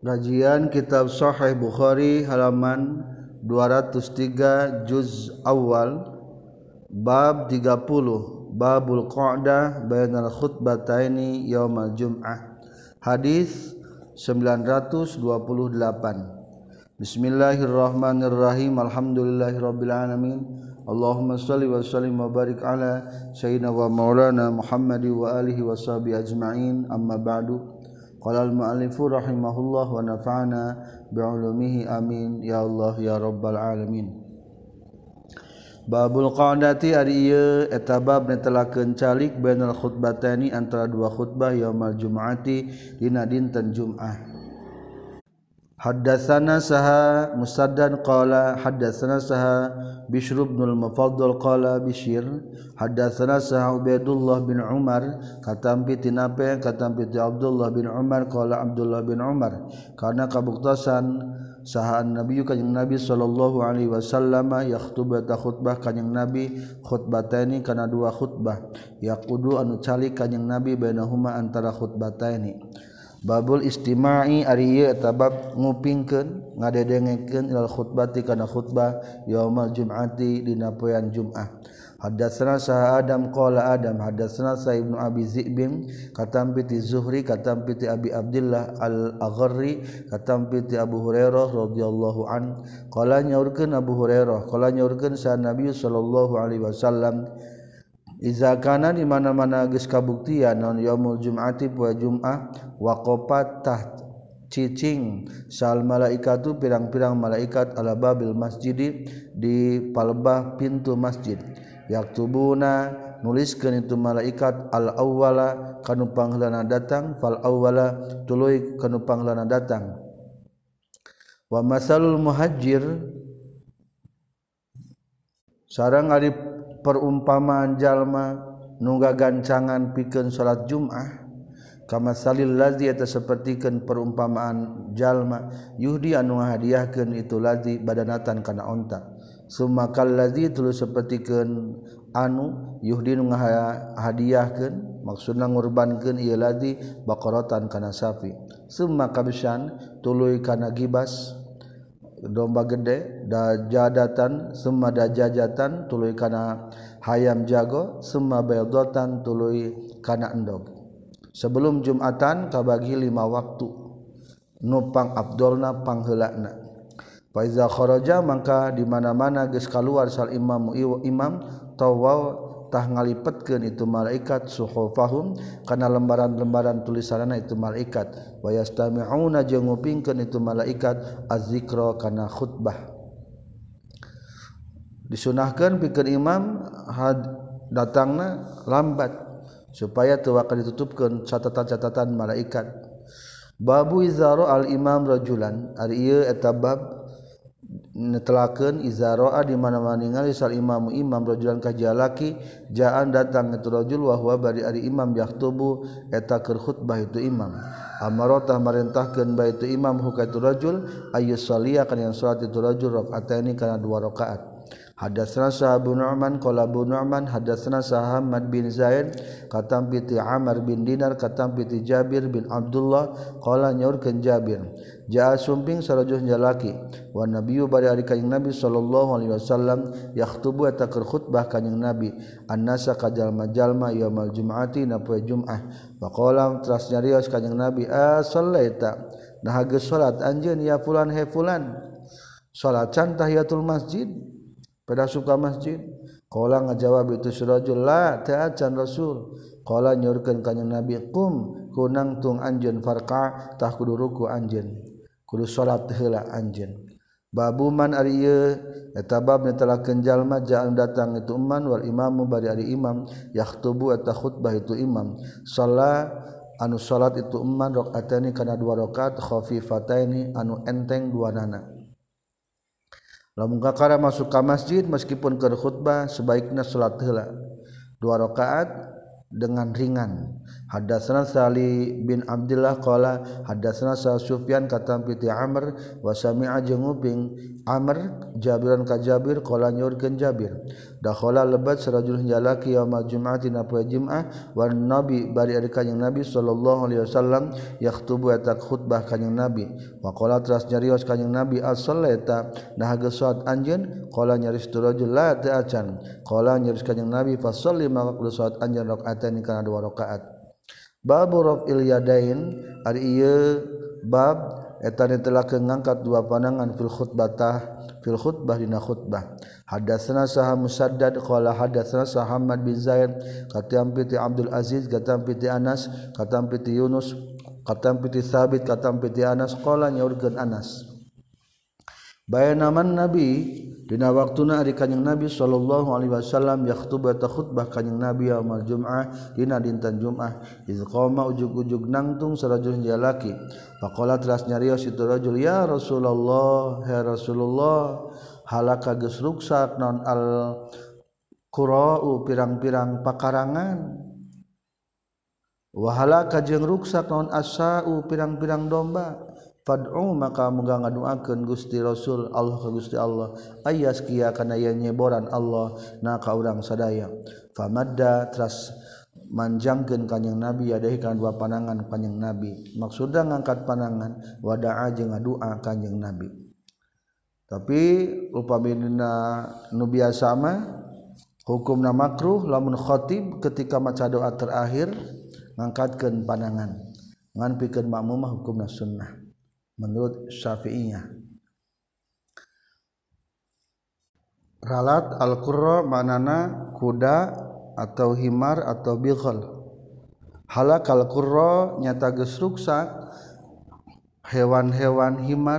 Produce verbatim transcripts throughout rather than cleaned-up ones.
Kajian Kitab Sahih Bukhari halaman dua ratus tiga juz awal bab tiga puluh babul qa'dah bainal khutbataini yaumal jum'ah hadis sembilan ratus dua puluh delapan. Bismillahirrahmanirrahim. Alhamdulillahirabbil alamin. Allahumma shalli wa sallim wa barik ala sayyidina wa maulana Muhammadi wa alihi wa sahbihi ajma'in. Amma ba'du. Qala al-mu'allifu rahimahullah wa nafa'ana bi'ulumihi amin ya Allah ya rabbal alamin. Babul qa'dati ari ieu eta bab netelakeun calik bainal khutbataini antara dua khutbah yaumal jum'ati dina dinten Jumat. Haddatsana saha Musaddad qala haddatsana saha Bishr bin al-Mufaddal qala Bishr haddatsana saha Ubaidullah bin Umar katampi tinape katampi Abdullah bin Umar qala Abdullah bin Umar karena kabuktasan saha Nabi kanjing Nabi sallallahu alaihi wasallam yakhtubah ta khutbah kanjing Nabi khutbataini kana dua khutbah yaqudu anu calik kanjing Nabi bainahuma antara khutbataini. Babul istima'i ari ieu eta bab ngupingkeun ngadedengekeun ilal khutbati kana khutbah yaumal jum'ati dina poean Jumat. Haddatsana sa Adam qala Adam haddatsana sa Ibnu Abi Zi'bin katampi ti Zuhri katampi ti Abi Abdullah Al-Agharri katampi ti Abu Hurairah radhiyallahu an qala nyaurkeun Abu Hurairah qala nyaurkeun sa Nabi sallallahu alaihi wasallam iza kana di mana-mana geus kabuktian naon yaumul jum'ati poe Jumat waqafat tah cicing sal malaikatu pirang-pirang malaikat ala babil masjid di palebah pintu masjid yaktubuna nuliskeun itu malaikat al awwala kanu pangheulana datang fal awwala tuluy kanu pangheulana datang wa masalul muhajir sareng ari perumpamaan jalma nungga gancangan pikeun salat Jumat kama salil ladzi eta sapertikeun perumpamaan jalma yuhdi anu ngahadiahkeun itu ladzi badanatan kana onta summa kal ladzi tuluy sapertikeun anu yuhdi nu ngahadiahkeun maksudna ngurbankeun ieu ladzi baqaratan kana sapi summa kabshan tuluy kana gibas domba gede dajadatan summa dajajatan tuluy kana hayam jago summa baydatan tuluy kana endog. Sebelum Jumatan kabagi lima waktu nupang abdolna pangheulana. Fa iza kharaja mangka di mana-mana geus kaluar sal imam imam tawaw tah ngalipetkeun itu malaikat suhufahum kana lembaran-lembaran tulisanana itu malaikat wa yastami'una jeung ngupingkeun itu malaikat az-zikra kana khutbah. Disunahkeun pikeun imam had datangna lambat supaya teu bakal ditutupkeun catatan-catatan malaikat. Babu izaro al imam rajulan ari ieu eta bab netelakeun izaro di mana-mana ningali sal imam imam rajulan ka jalaki jaan datang itu rajul wa huwa bari ari imam yaktubu eta keur khutbah itu imam amarata marentahkeun bae itu imam hu ka itu rajul ayyus shaliya kana yang salat itu rajul rakaataini kana dua rakaat. Hadatsana sa Abu Nu'man qala Abu Nu'man hadatsana sa Hamad bin Zaid katampi ti Amr bin Dinar katampi ti Jabir bin Abdullah qala nyaurkeun Jabir jaa sumping sarajuh jalaki wa nabiyyu bari ari kanjing Nabi sallallahu alaihi wasallam yakhutubu eta keur khutbah kanjing Nabi annasa ka jalma-jalma yaumal jum'ati na poe Jumat wa qala teras nyarios kanjing Nabi a sallaita nah geus salat anjeun ya fulan he fulan salat can tahiyatul masjid pada suka masjid qala ngajawab itu surajul la ta'acan rasul qala nyorkeun kanjing Nabi qum kunang tung anjeun farqa tah kudu ruku anjeun kudu salat heula anjeun. Babu man ari ieu eta bab netelakeun jalma jaan datang itu man wal imamu bari ari imam yakhutubu eta khutbah itu imam shalla anu salat itu man rakaatani kana dua rakaat khafifataini anu enteng duanana. Lamun kakara masuk ke masjid meskipun keur khutbah sebaiknya salat heula dua rakaat dengan ringan. Hadatsana Sali bin Abdullah qala hadatsana Sufyan katampi ti Amr wa sami'a jeung nguping Amr Jabiran ka Jabir qala nyorkeun Jabir dakhala lebat sarajul jalaki yaumul jum'ati na poe Jumat wan nabi bari ari kanjing Nabi sallallahu alaihi wasallam yakhutubu eta khutbah kanjing Nabi wa qala teras nyarios kanjing Nabi as-sallata nah geus salat anjeun qala nyaris tu rajul la ta'acan qala nyaris kanjing Nabi fa shalli maka kudu salat anjeun rakaatan kana dua rakaat babu raf'il yadain ari ieu bab eta telah ngangkat dua pandangan fil khutbatah fil khutbah dina khutbah hadatsana sah musaddad qala hadatsana sah Muhammad bin Zaid katam piti Abdul Aziz katam piti Anas katam piti Yunus katam piti Sabit katam piti Anas qala nyaurkeun Anas bayanaman Nabi dina waktuna ari kanjing Nabi sallallahu alaihi wasallam yakhtub eta khutbah kanjing Nabi yaumul jum'ah dina dinten Jumat iz qama ujug-ujug nangtung sarajul jalaki faqala teras nyarios itu rajul ya Rasulullah ya Rasulullah halaka geus ruksak naon al qura'u pirang-pirang pakarangan wa halaka jeung ruksak naon asa'u pirang-pirang domba fad'u maka muga ngaduakeun Gusti Rasul Allah ka Gusti Allah ayaskia kana aya nyeboran Allah na ka urang sadaya famadda teras manjangkeun kanjing Nabi yadahi kana dua pandangan kanjing Nabi maksudna ngangkat pandangan wada'a jeung ngadua kanjing Nabi tapi upamina nu biasa mah hukumna makruh lamun khatib ketika maca doa terakhir ngangkatkeun pandangan ngan pikeun makmum mah hukumna sunnah menurut Syafi'iyah. Ralat al-qurra manana kuda atau himar atau bighal. Halak al-qurra nyata geus ruksak hewan-hewan himar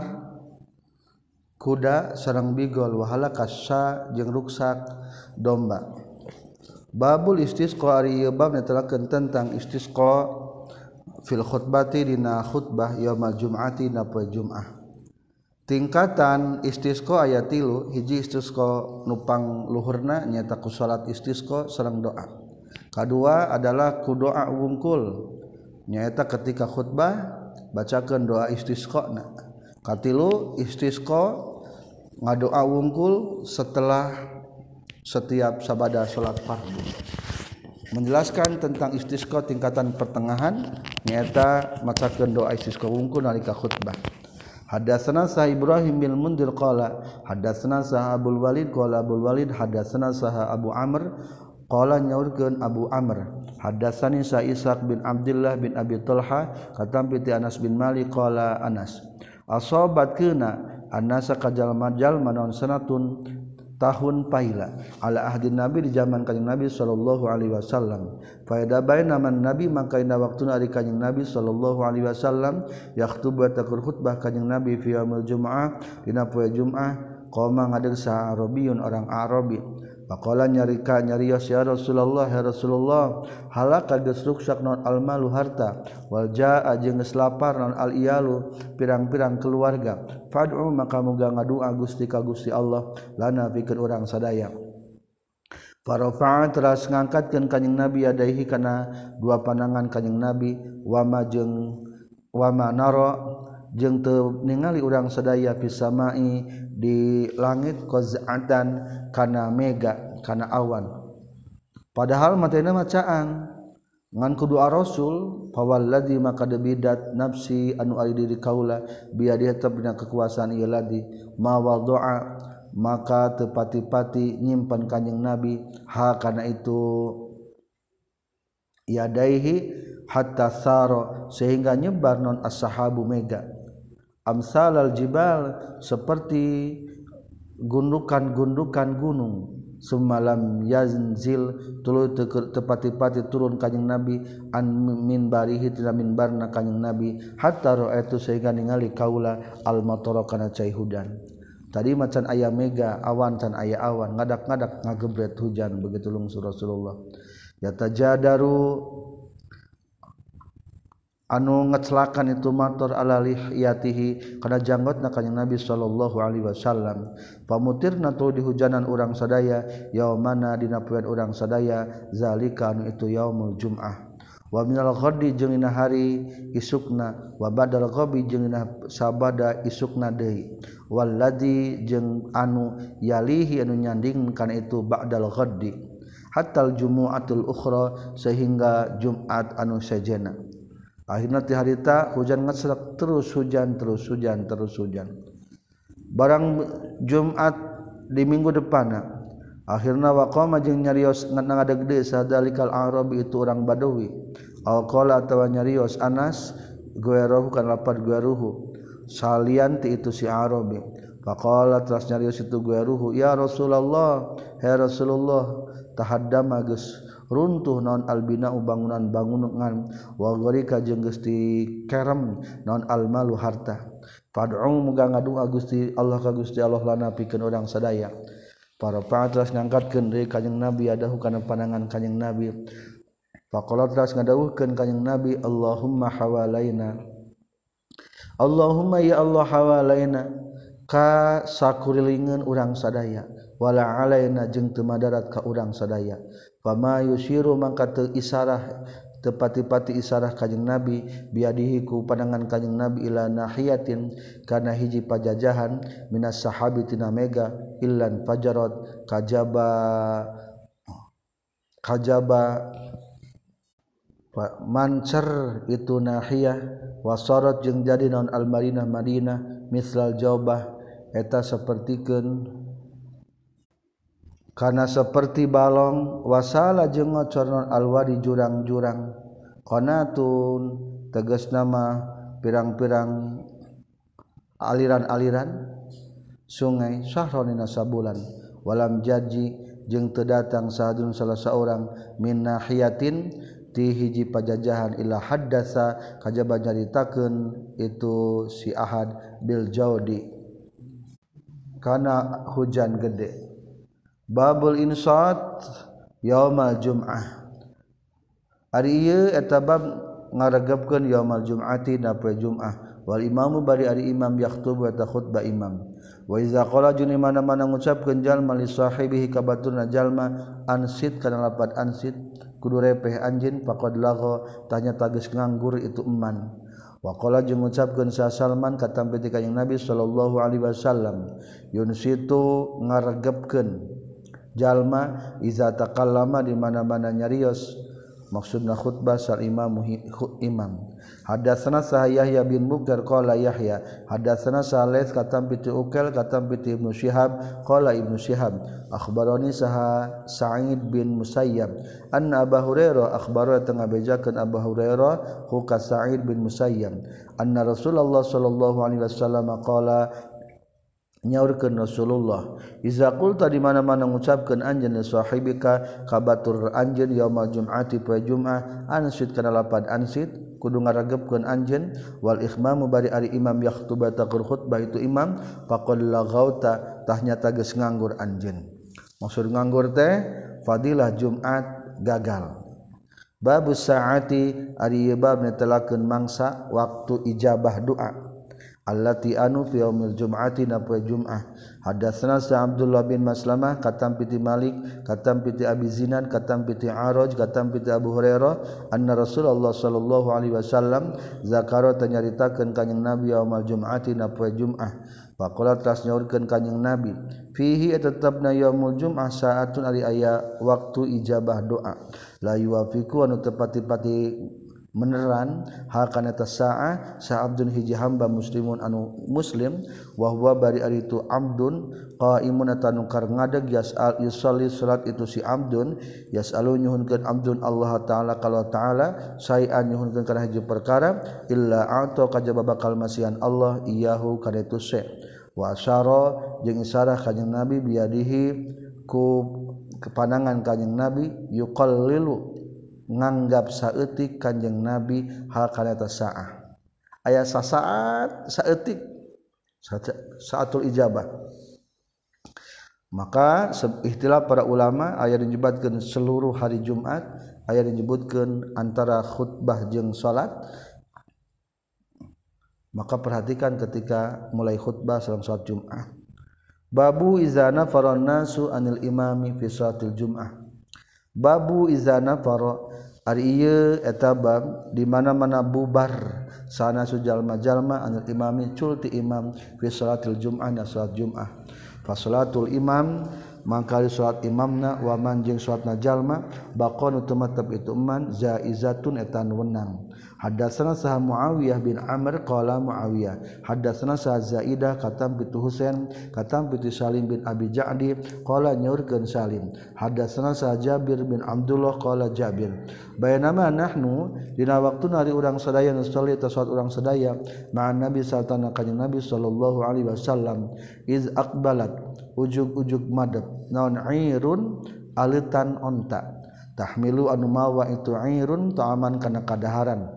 kuda sareng bighal wa halakasya jeung ruksak domba. Babul istisqa ari ieu bab netelakeun tentang istisqa fil khutbati dina khutbah yaumul jum'ati na poe Jumat. Tingkatan istisqa aya tilu, hiji istisqa nupang luhurna nyaeta ku salat istisqa sareng doa. Kadua adalah ku doa wungkul nyaeta ketika khutbah bacakeun doa istisqana. Katilu istisqa ngadoa wungkul setelah setiap sabada salat fardu. Menjelaskan tentang istisqa tingkatan pertengahan nyaeta macakeun doa istisqa wungkul nalika khutbah. Hadatsana Sa Ibrahim bin Mundir qala hadatsana Sa Abdul Walid qala Abdul Walid hadatsana Sa Abu Amr qala nyaurkeun Abu Amr hadatsani Sa Ishaq bin Abdullah bin Abi Talha katam piti Anas bin Malik qala Anas asabatkeuna annasa kajalma-jalma naon sanatun tahun paila ala ahdi Nabi di zaman kanjing Nabi sallallahu alaihi wasallam faida baina man Nabi maka ina waktuna ari kanjing Nabi sallallahu alaihi wasallam yakhtub wa takur khutbah kanjing Nabi fi yaumil jumu'ah dina poe Jumat qoma ngadeg sa Arabiyun orang Arabi faqala nyarika nyarios ya Rasulullah ya Rasulullah halaka geus ruksak naon almalu harta wal jaa jeung geus lapar naon al iyalu pirang-pirang keluarga fad'u maka muga ngadua Gusti ka Gusti Allah lana pikeun urang sadaya farafa'a teras ngangkatkeun kanjing Nabi yadaihi kana dua pandangan kanjing Nabi wa ma jeung wa ma nara jeung teu ningali urang sadaya fis samai di langit qaz'atan kana mega kana awan padahal matena macaan ngan kudu Rasul fawalladzi maka debidat nafsi anu ari diri kaula biadihi tabna kekuasaan ieu ladi ma wadu'a maka tepati-pati nyimpen kanjing Nabi ha kana itu yadaihi hatta sara sehingga nyebar non as-sahabu mega amsalal jibal seperti gundukan-gundukan gunung semalam yazil tuluy tepati-pati turun kanjing Nabi an minbarihi tina minbarna kanjing Nabi hatta ra'aitu sehingga ningali kaula al matara kana cai hujan tadi macan aya mega awan can aya awan ngadak-ngadak ngagebret hujan begitu lungsur Rasulullah yatajadaru anu ngecelakan itu mator ala lihiyatihi kana janggotna kanjing Nabi sallallahu alaihi wasallam pamutirna tu dihujanan urang sadaya yaumana dina poean urang sadaya zalika anu itu yaumul jum'ah wa minal ghadi jeung dina hari isukna wa badal ghabi jeung dina sabada isukna deui walladzi jeung anu yalihi anu nyanding kana itu ba'dal ghadi hatal jumu'atul ukhra sehingga Jumat anu sajena akhirna ti harita hujan ngasrak terus hujan terus hujan terus hujan barang Jumat di minggu depanna akhirna waqama jeung nyarios ngadegde sadalikal arabi itu orang Badawi alqala atawa nyarios Anas gueruhu kan lapat gueruhu salian ti itu si Arabi faqala teras nyarios itu gueruhu ya Rasulullah ya Rasulullah tahaddama geus runtuh naon albinau bangunan-bangunan wa gharika jeung geus dikerem naon almalu harta fad'u muga ngadua Gusti Allah ka Gusti Allah lana pikeun urang sadaya para patras ngangkatkeun deui kanjing Nabi adahu kana pandangan kanjing Nabi faqala teras ngadawuhkeun kanjing Nabi Allahumma hawalaina Allahumma ya Allah hawalaina ka sakurilingeun urang sadaya wala alaina jeung teu madarat ka urang sadaya fama yusiru mangka teu isarah tepati-pati isarah kanjing Nabi biadihi ku pandangan kanjing Nabi ila nahiyatin kana hiji pajajahan minas sahabi tina mega illan fajarat kajaba kajaba mancer itu nahiyah wasarat jeung jadi naon al Madinah Madinah mislal jaubah eta sapertikeun kana seperti balong wasala jeung ngocor naon alwadi jurang-jurang qanatun tegasna mah pirang-pirang aliran-aliran sungai sahronina sabulan walam jaji jeung teu datang sahadun salah seorang min nahiyatin ti hiji pajajahan ila haddasa kajaba nyaritakeun itu si ahad bil jaudi kana hujan gede babul insat yaumal jum'ah ari ieu eta bab ngaregepkeun yaumal jum'ati na poe jum'ah wal imamu bari ari imam yakhtub eta khutbah imam wa iza qala juni mana-mana ngucapkeun jalma li sahibihi kabaturna jalma ansit kana lapat ansit kudu repeh anjeun faqad lagha tanya tagis nganggur itu eman wa qala jeung ngucapkeun sa Salman katampi ti kanjing Nabi sallallahu alaihi wasallam yunsitu ngaregepkeun jalma iza takallama di mana-mana nyarios maksudna khutbah sal imam imam hadatsana Yahya bin Mughar qala Yahya hadatsana Salih katam piti Ukel katam piti Ibnu Syihab qala Ibnu Syihab akhbarani saha Sa'id bin Musayyab anna Abu Hurairah akhbara tengah bejakeun Abu Hurairah hu ka Sa'id bin Musayyab anna Rasulullah sallallahu alaihi wasallam qala nyaurkeun Rasulullah iza qulta di mana-mana ngucapkeun anjeun li sahibika kabatur anjeun yaumal jum'ati poe Jumat ansit kana lapad ansit kudu ngaragebkeun anjeun wal ikhmamu bari ari imam yakhtubah taqur khutbah itu imam faqad laghauta tah nyata geus nganggur anjeun maksud nganggur teh fadilah Jumat gagal babus saati ari bab netelakeun mangsa waktu ijabah doa allati anu fi yaumil jum'ati na poe Jum'ah hadatsana sa Abdullah bin Maslamah katam piti Malik katam piti Abi Zinan katam piti Araj katam piti Abu Hurairah anna Rasulullah sallallahu alaihi wasallam zakara tanyaritakeun kanjing Nabi yaumal jum'ati na poe Jum'ah faqala tas nyaurkeun kanjing Nabi fihi tetepna yaumul jum'ah saatun ari aya waktu ijabah doa la yuwafiqu anu tepati-pati meneran hal kana tasaa sa abdun hiji hamba muslimun anu muslim wa huwa bari ari itu abdun qaimun atanu kar ngadeg yasal yusalli salat itu si abdun yasalu nyuhunkeun abdun Allah taala kalau taala sayan nyuhunkeun kana hiji perkara illa ata kajaba bakal masihan Allah iyahu kana itu se wa asyara jeung isarah kanjing Nabi biadihi ku kepandangan kanjing Nabi yuqallilu nganggap saeutik kanjeng Nabi hal kana tasaah aya sasaat saeutik saatul ijabah maka ikhtilaf para ulama aya disebutkeun seluruh hari Jumat aya disebutkeun antara khutbah jeung salat maka perhatikan ketika mulai khutbah salam salat Jumat babu izana faron nasu anil imami fi salatil Jumat babu izana faro ari ieu eta bab di mana-mana bubar sana sujalma-jalma anu imami culti imam fi salatil jum'ah na salat jum'ah fa salatul imam mangkali salat imamna wa man jeung salatna jalma baqonu tumatab itu man zaizatun eta wenang hadatsana sah Muawiyah bin Amr qala Muawiyah hadatsana sah Zaidah katam bitu Husain katam bitu Salim bin Abi Ja'di qala nyaurkeun Salim hadatsana sah Jabir bin Abdullah qala Jabir bayanama nahnu dina waktuna ari urang sadaya nu salat salat urang sadaya ma'an Nabi sallallahu alaihi Nabi sallallahu alaihi wasallam iz aqbalat ujug-ujug madep naon irun alitan onta tahmilu anu mawa itu irun ta'aman kana kadaharan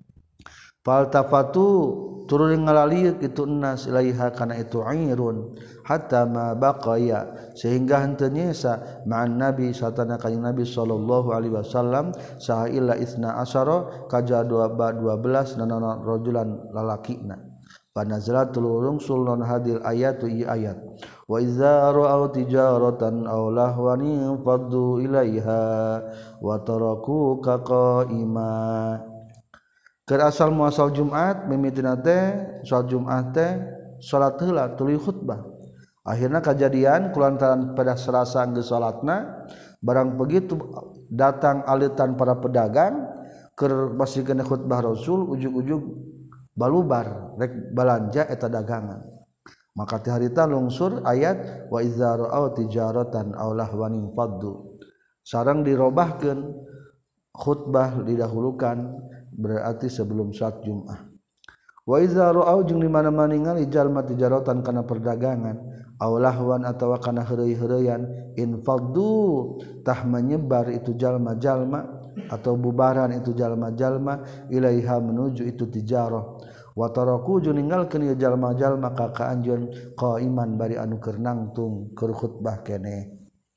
faltafatu turun ngalalieuk itu nas ilaiha kana itu irun hatta ma baqaya sehingga henteu nyesa ma'an nabi satana kanjing nabi sallallahu alaihi wasallam saha illa isna asyara kaja dua belas nana rajulan lalakina panazalat tulurung sulun hadil ayatu i ayat wa idza ra'aw tijaratan aw lahwan faddu ilaiha wa tarakuka qa'ima keur asal muasal Jumat mimitina teh salat Jumat teh salat heula tuluy khutbah akhirna kajadian kulantaran pada Selasa geus salatna barang begitu datang alitan para pedagang keur basikeun khutbah Rasul ujug-ujug balubar rek balanja eta dagangan maka ti harita lungsur ayat wa idza ra'aw tijaratan aw lahwan faddu sareng dirobahkeun khutbah didahulukan berarti sebelum salat Jumat wa idza ra'aw jeung di mana-mana ningali jalma tijaratan kana perdagangan aw lahwan atawa kana heureuy-heureuyan infaddu tah menyebar itu jalma-jalma atau bubaran itu jalma-jalma ilaiha menuju itu tijarah wa taraku jeung ninggalkeun ieu jalma-jalma ka kaanjeun qaiman bari anu keur nangtung keur khutbah keneh.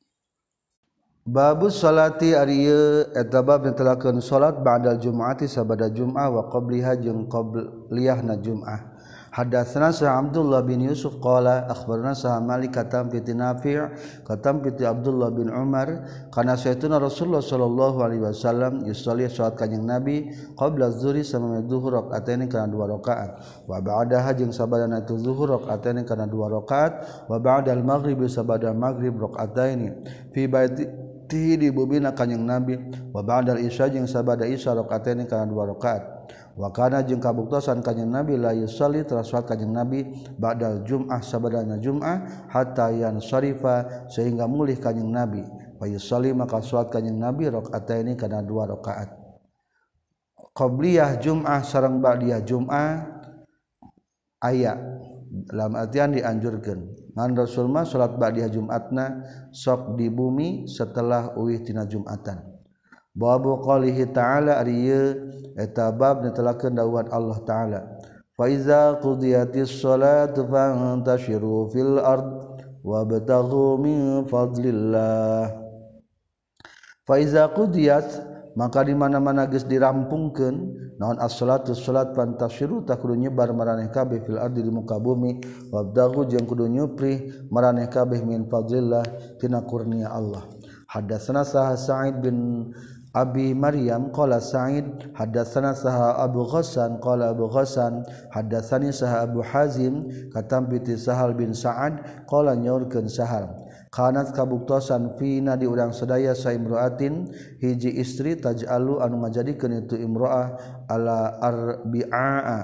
Babus salati ari ieu eta bab netelakeun salat ba'dal jumu'ati sabada jum'ah wa qabliha jeung qabliyahna jum'ah. Hadatsana sa Abdullah bin Yusuf qala akhbarana sa Malik katam fi Nafi' katam fi Abdullah bin Umar kana sayyidina Rasulullah sallallahu alaihi wasallam yusalli salat kanjing Nabi qabla zuhri samana zuhur rakaataini kana dua rakaat wa ba'daha jeung sabadana tu zuhur rakaataini kana dua rakaat wa ba'dal maghrib sabada maghrib rakaataini fi baiti di bubina kanjing Nabi wa ba'dal isya jeung sabada isya rakaataini kana dua rakaat wa kana jeung kabuktosan kanjing Nabi la yusalli salat kanjing Nabi ba'dal jum'ah sabadana jum'ah hatta yan syarifa sehingga mulih kanjing Nabi wa yusalli maka salat kanjing Nabi rakaataini kana dua rakaat qabliyah jum'ah sareng ba'diyah jum'ah aya dalam artian dianjurkeun ngan Rasul mah salat ba'diyah Jumatna sok di bumi setelah uwih tina Jumatan. Babu qalihi ta'ala ari ieu eta bab netelakeun dawuhan Allah taala fa iza qudiyatis shalatu fantashiru fil ard wabtaghu min fadlillah fa iza qudiyat maka di mana-mana geus dirampungkeun naon as-salatu salat fantashiru tak kudu nyebar maraneh kabeh fil ardi di muka bumi wabtaghu jeung kudu nyupri maraneh kabeh min fadlillah tina kurnia Allah. Hadatsana Sa'id bin Abi Maryam qala Sa'id hadatsana saha Abu Ghassan qala Abu Ghassan hadatsani saha Abu Hazim katam bi Sahal bin Sa'ad qala nyaurkeun Sahal kanat kabuktosan fina di urang sadaya sa imraatin hiji istri taj'alu anu ngajadikeun itu imroah ala arbi'a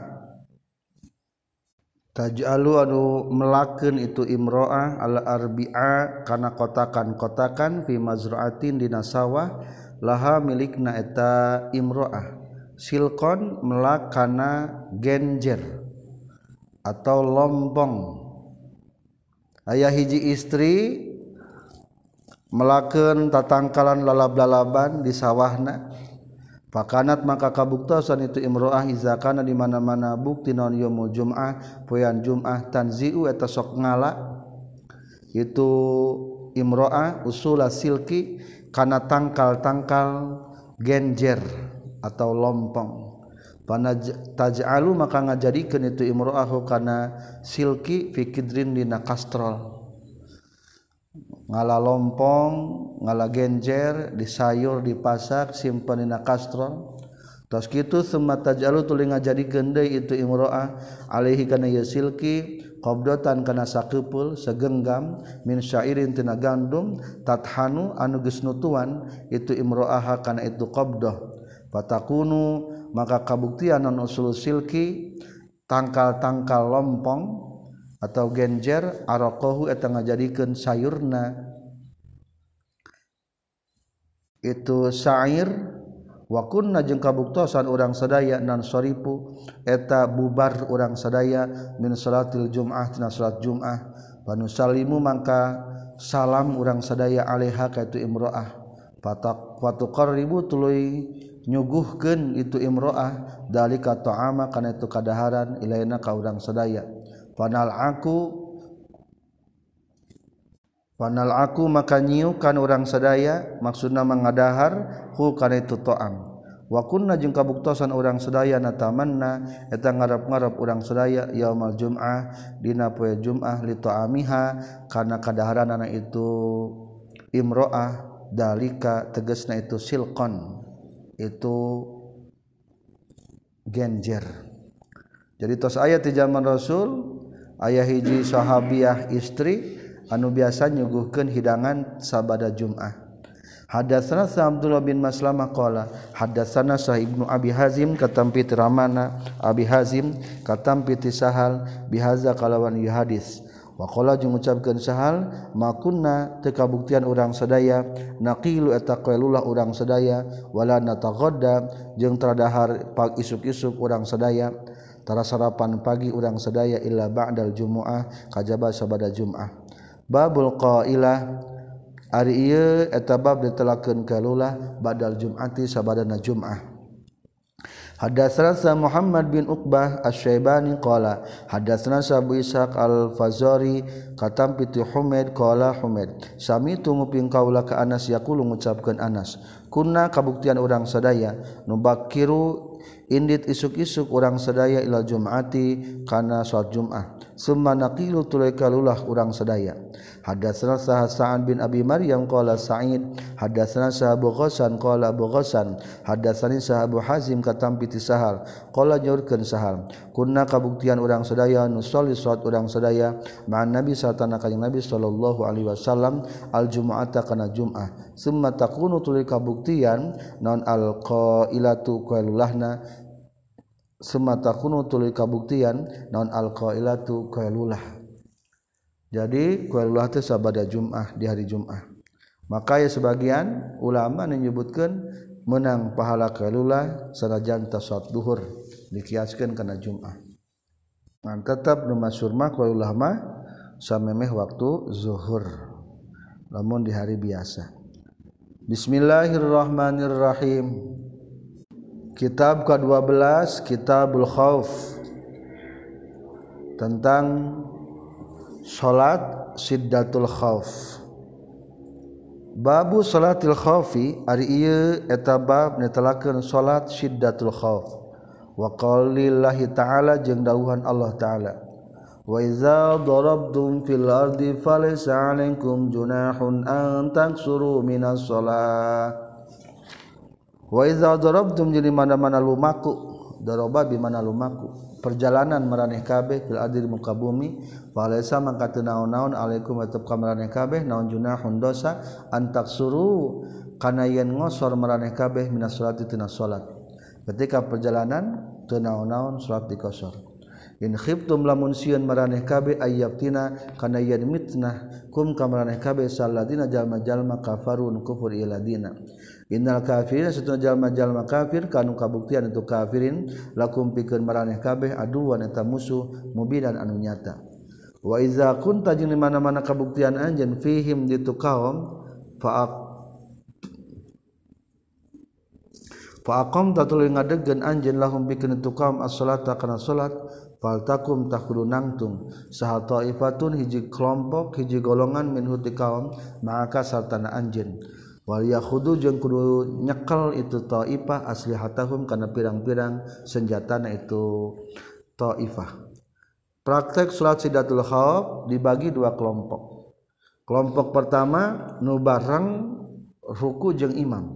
taj'alu anu melakeun itu imroah ala arbi'a kana kotakan-kotakan fi mazra'atin dina sawah laha milikna eta imro'ah silkon melak kana genjer atau lompong aya hiji istri melakeun tatangkalan lalab-lalaban di sawahna pakanat maka kabuktosan itu imro'ah izakana di mana-mana bukti naon yaumul jum'ah poean jum'ah tanziu eta sok ngala itu imro'ah usula silki kana tangkal-tangkal genjer atau lompong panaj taj'alu maka ngajadikeun itu imro'ahu kana silki fi kidrin dina kastrol ngala lompong ngala genjer di sayur dipasak simpen dina kastron tos kitu summa tajalu tuluy ngajadikeun deui itu imro'ah alaihi kana ieu silki qabdatan kana sakeupul segenggam min syairin tina gandum tathanu anu geus nutuan itu imro'ah kana itu qabdah fatakunu maka kabuktian anu usul silki tangkal-tangkal lompong atau genjer araqahu eta ngajadikeun sayurna itu syair wa kunna jeung kabuktosan urang sadaya nan soripu eta bubar urang sadaya min salatil jum'ah tina salat jum'ah wa nusallimu mangka salam urang sadaya alaiha ka itu imro'ah fatak wa tuqarribu tuluy nyuguhkeun itu imro'ah dalika ta'ama kana itu kadaharan ilaina ka urang sadaya panal aku panal aku maka nyiukan urang sadaya maksudna mangadahar hu kana itu ta'am wa kunna jeung kabuktosan urang sadaya natamanna eta ngarep-ngarep urang sadaya yaumul jum'ah dina poe jum'ah li ta'amiha kana kadaharanna itu imro'ah dalika tegasna itu silqon itu genjer. Jadi tos aya ti zaman Rasul aya hiji sahabiah istri anu biasa nyuguhkeun hidangan sabada Jumat. Hadatsana Abdullah bin Maslamah qala hadatsana Sah Ibnu Abi Hazim katampi ramana Abi Hazim katampi Sahal bihaza kalawan ieu hadis. Wa qala jeung ngucapkeun Sahal makunna teu kabuktian urang sadaya naqilu eta qailullah urang sadaya wala nataghadda jeung tradahar pag isuk-isuk urang sadaya tara sarapan pagi urang sadaya illa ba'dal jumu'ah kajaba sabada Jumat. Babul qailah ari ieu eta bab ditelakeun qailullah ba'dal jum'ati sabadana Jumat. Hadatsana Muhammad bin Uqbah Asy-Syaibani qala hadatsana Abu Ishaq Al-Fazari katam piti Humaid qala Humaid sami tu nguping kaula ka Anas yaqulu ngucapkeun Anas kunna kabuktian urang sadaya nubakiru indit isuk-isuk urang sadaya ila Jum'ati kana salat Jumat summa naqilu tulay kalulah urang sadaya. Hadatsana Sa'ad bin Abi Maryam qala Sa'id hadatsana Abu Ghassan qala Abu Ghassan hadatsani Abu Hazim katam piti Sahal qala nyaurkeun Sahal kunna kabuktian urang sadaya nu sholli salat urang sadaya ma'an Nabi satana kanjing Nabi sallallahu alaihi wasallam al Jumu'ata kana Jum'ah summa takunu tuluy kabuktian naon al qailatu qailulahna summa takunu tuluy kabuktian naon al qailatu qailulah. Jadi qailullah teh sabada Jumat di hari Jumat. Maka ya sebagian ulama menyebutkan menang pahala qailullah sanajan ta salat duhur dikiaskeun kana Jumat. Ngan tetap nu masyhur mah qailullah mah samemeh waktu zuhur. Lamun di hari biasa. Bismillahirrahmanirrahim. Kitab ke dua belas Kitabul Khauf tentang salat Siddatul Khauf. Babu salatil khaufi ari ieu eta bab netelakeun salat Siddatul Khauf. Wa qaulillahi ta'ala jeung dawuhan Allah ta'ala. Wa idza darabtum fil ardi falaysa 'alaikum junahun an taksuru minas shalah. Wa idza darabtum jadi mana-mana lumaku daraba bi mana lumaku perjalanan maraneh kabeh fil ardi muka bumi falaysa mangka teu naon-naon alaikum tetep ka maraneh kabeh naon junahun dosa antaksuru kana yen ngosor maraneh kabeh minas salati tina salat ketika perjalanan teu naon-naon salat dikosor in khiftum lamun sieun maraneh kabeh ayyabtina kana yen mitnah kum ka maraneh kabeh saladina jalma-jalma kafarun kufur iladina. Innal kafirin satuna jalma-jalma kafir kanu kabuktian itu kafirin lakum pikeun maraneh kabeh aduan eta musuh mubinan anu nyata. Wa iza kunta jeung di mana-mana kabuktian anjeun fihim ditu kaum fa fa aqam tatuluy ngadegkeun anjeun lahum pikeun itu kaum as-salata kana salat faltakum takhulu nangtung saha taifatun hiji kelompok hiji golongan minhu ti kaum maka sartana anjeun wal yakhudu jeung kudu nyekel itu taifah aslihatahum kana pirang-pirang senjatana itu taifah. Praktek salat Siddatul Khauf dibagi dua kelompok. Kelompok pertama nu bareng ruku jeung imam.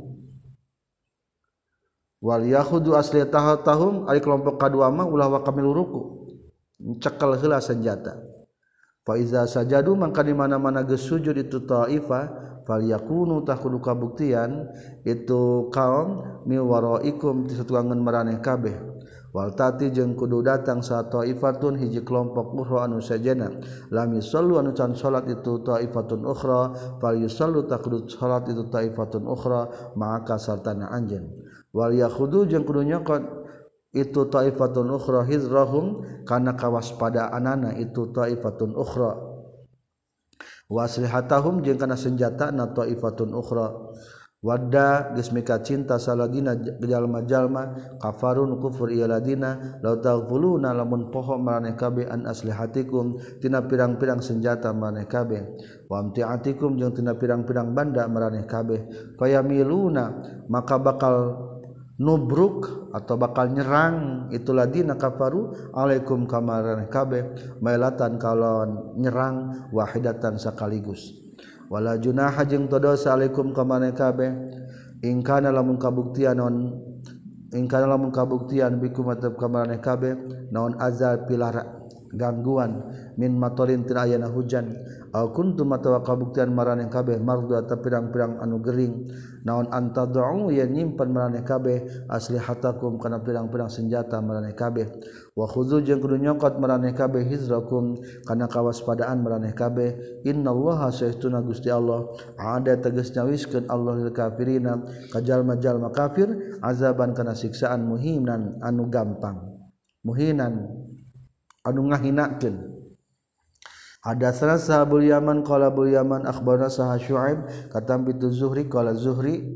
Wal yakhudu asliyatahum ari kelompok kadua mah ulah wa kamilu ruku. Cekel heula senjata. Fa iza sajadu mangka di mana-mana geus sujud itu taifah falyakunu takudu kabuktian itu kaum mi waraikum ti satuangan maraneh kabeh. Wal tati jeung kudu datang sa taifatun hiji kelompok ukhra anu sajana lam yusallu anu can salat itu taifatun ukhra fal yusallu takudu salat itu taifatun ukhra maka sartana anjeun. Wal yakhudu jeung kudu nyokot itu taifatun ukhra hizrahum kana kawaspadaanana itu taifatun ukhra waslihatahum jeung kana senjatana taifatun ukhra. Wadda geus mika cinta saladina jalma-jalma kafarun kufur ieu ladina law taghfuluna lamun poho maraneh kabeh an aslihatikum tina pirang-pirang senjata maraneh kabeh wa amtiatikum jeung tina pirang-pirang banda maraneh kabeh fayamiluna maka bakal nubruk atau bakal nyerang itu ladina kafaru alaikum kamaraneh kabeh mailatan kalon nyerang wahidatan sakaligus. Wala junaha jeung teu dosa alaikum ka maneh kabeh in kana lamun kabuktian naon in kana lamun kabuktian bikum atep ka maneh kabeh naon azal pilara gangguan min matorin tina ayana hujan au kuntum atawa kabuktian maraneh kabeh mardu atau pirang-pirang anu gering naon antad'u ya nyimpen maraneh kabeh aslihatakum kana pirang-pirang senjata maraneh kabeh wa khudzu jeung kudu nyokot maraneh kabeh hizrakum kana kawaspadaan maraneh kabeh innallaha saestuna Gusti Allah ada tegas nyawiskeun Allah lil kafirina ka jalma-jalma kafir azaban kana siksaan muhinan anu gampang muhinan anu ngahinakeun. Hadatsana sahabul Yaman qala bul Yaman akhbarana sah Syuaib katam bitu Zuhri qala Zuhri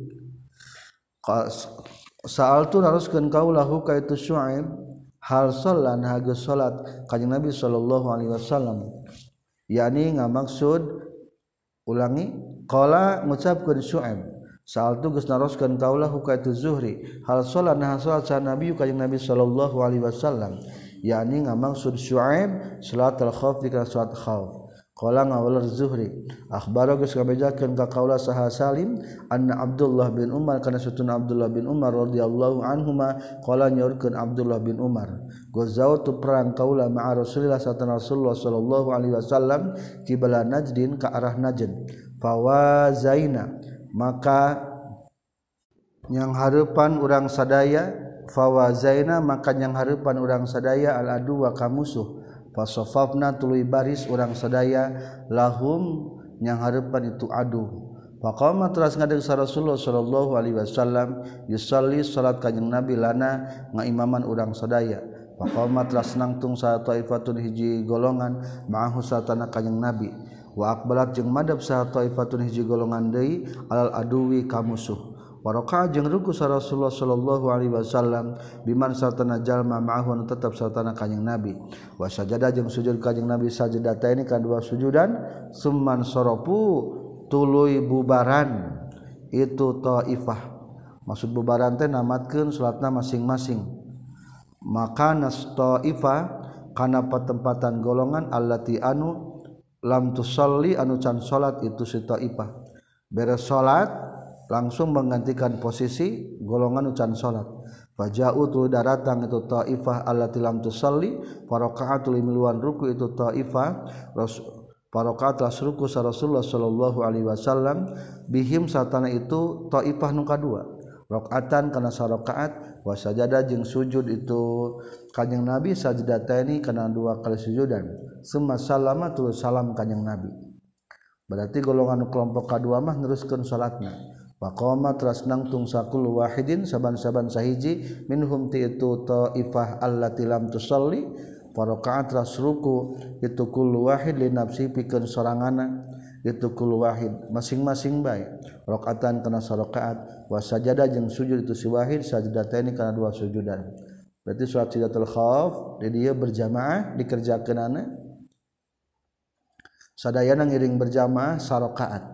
sa'altu naruskeun kaulahu ka itu Syuaib hal sallan hageus salat kanjing Nabi sallallahu alaihi wasallam yakni ngamaksud ulangi qala ngucapkeun Syuaib sa'altu geus naruskeun kaulahu ka itu Zuhri hal sallan ha salat sa Nabi kanjing Nabi sallallahu alaihi wasallam yakni ngamaksud Syuaib salat al-khauf dikira salat khauf qala ngawal Zuhri akhbara geus kabejakeun ka qaula saha Salim anna Abdullah bin Umar kana satuna Abdullah bin Umar radhiyallahu anhuma qala nyaurkeun Abdullah bin Umar gozautu perang qaula ma'a Rasulillah sallallahu sallallahu alaihi wasallam qibla Najdin ka arah Najd fawazaina maka yang hareupan urang sadaya fawazaina maka yang hareupan urang sadaya al adu wa kamusuh fasafafna tuluy baris urang sadaya lahum yang hareupan itu adu faqama teras ngadeg sa Rasulullah sallallahu alaihi wasallam yusalli salat kanjing Nabi lana ngaimaman urang sadaya faqama teras nangtung sa taifatun hiji golongan ma'ahu satana kanjing Nabi wa aqbalat jeung madhab sa taifatun hiji golongan deui alal aduwi kamusuh Waraka jeung ruku sa Rasulullah sallallahu alaihi wasallam biman sartana jalma ma'ahu tetap sartana kanjing Nabi wa sajada jeung sujud kanjing Nabi sajdataini kana dua sujudan summan sorofu tuluy bubaran itu taifah maksud bubaran teh namatkeun salatna masing-masing maka nas taifah kana patempatan golongan allati anu lam tusalli anu can salat itu si taifah beres salat langsung menggantikan posisi golongan ucan salat faja'u tu daratang itu taifah allati lam tusalli faraqa'atul miluan ruku itu taifah faraqa'at las ruku sa Rasulullah sallallahu alaihi wasallam bihim satana itu taifah nu kadua rakaatan kana sarakaat wa sajada jeung sujud itu kanjing Nabi sajdataini kana dua kali sujudan summa sallama tu salam kanjing Nabi berarti golongan kelompok kadua mah neruskeun salatna Waqama teras nangtung sakul wahidin saban-saban sahiji minhum ti itu taifah allati lam tusalli faraqa'at teras ruku itu kullu wahid li nafsi pikeun soranganna itu kullu wahid masing-masing bae rakaatan kana sarakaat wa sajada jeung sujud itu si wahid sajdataini kana dua sujudan berarti salat sidatul khauf di dieu berjamaah dikerjakeunana sadayana ngiring berjamaah sarakaat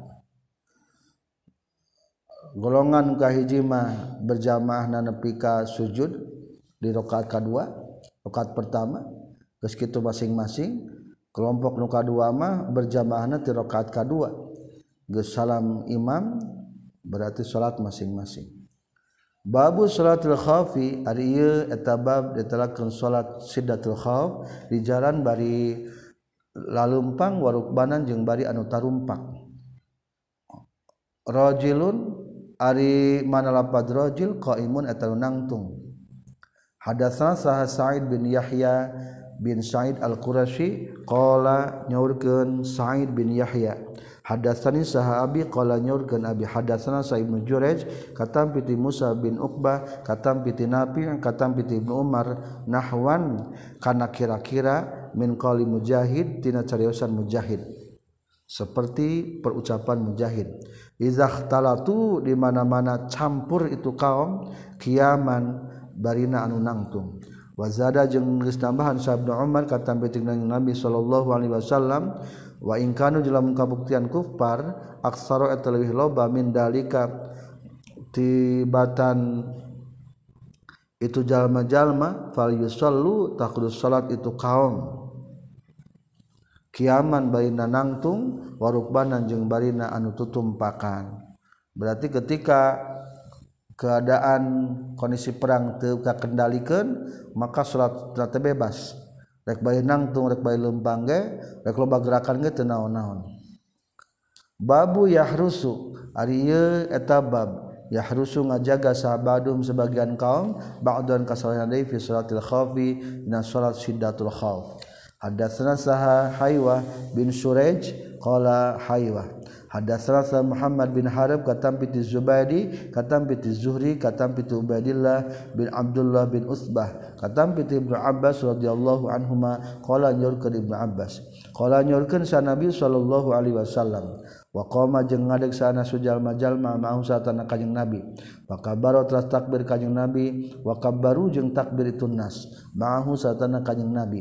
golongan kahiji mah berjamaah nepi ka sujud di rakaat kadua rakaat pertama geus kitu masing-masing kelompok nu kadua mah berjamaahna ti rakaat kadua geus salam imam berarti salat masing-masing. Babu salatul khaufi ari ieu eta bab ditelakeun salat siddatul khauf di jalan bari lalumpang warukbanan jeung bari anu tarumpak. Rajulun ari mana lapad rajul qaimun eta nangtung. Hadatsana Sah Sa'id bin Yahya bin Sa'id Al-Qurashi qala nyaurkeun Sa'id bin Yahya hadatsani sahabi qala nyaurkeun abi hadatsana Sa'id bin Jurayj katam piti Musa bin Uqbah katam piti Nafi' katam piti Ibnu Umar nahwan kana kira-kira min qali Mujahid tina cariosan Mujahid seperti perucapan Mujahid izahtalatu di mana-mana campur itu kaum kiaman barina anu nangtung. Wazada jeung geus tambahan sabda Umar kata beting Nabi sallallahu alaihi wasallam wa in kanu jelamun kabuktian kufar aksara eta leuwih loba min dalika tibatan itu jalma-jalma fal yusallu taqdus salat itu kaum kiaman barina nangtung warukbanan jeung barina anu tutumpakan. Berarti ketika keadaan kondisi perang teu kakendalikeun maka salat teh bebas rek bae nangtung rek bae leumpang ge rek loba gerakan ge teu naon-naon. Babu yahrusu ari ieu eta bab yahrusu ngajaga sabadum sebagian kaum ba'dan kasalahan deui fi salatil khaufi dina salat siddatul khauf. Hadatsana Saha Haywah bin Suraj qala Haywah hadatsana Muhammad bin Harb katam piti Zubaidi katam piti Zuhri katam piti Ubaidillah bin Abdullah bin Utsbah katam piti Ibnu Abbas radhiyallahu anhuma qala nyorkeun Ibnu Abbas qala nyorkeun sa Nabi sallallahu alaihi wasallam wa qama jeung ngadeg sana sujalma-jalma ma'ahu satana kanjing Nabi wa kabbara teras takbir kanjing Nabi wa kabbaru jeung takbir itu nas ma'ahu satana kanjing Nabi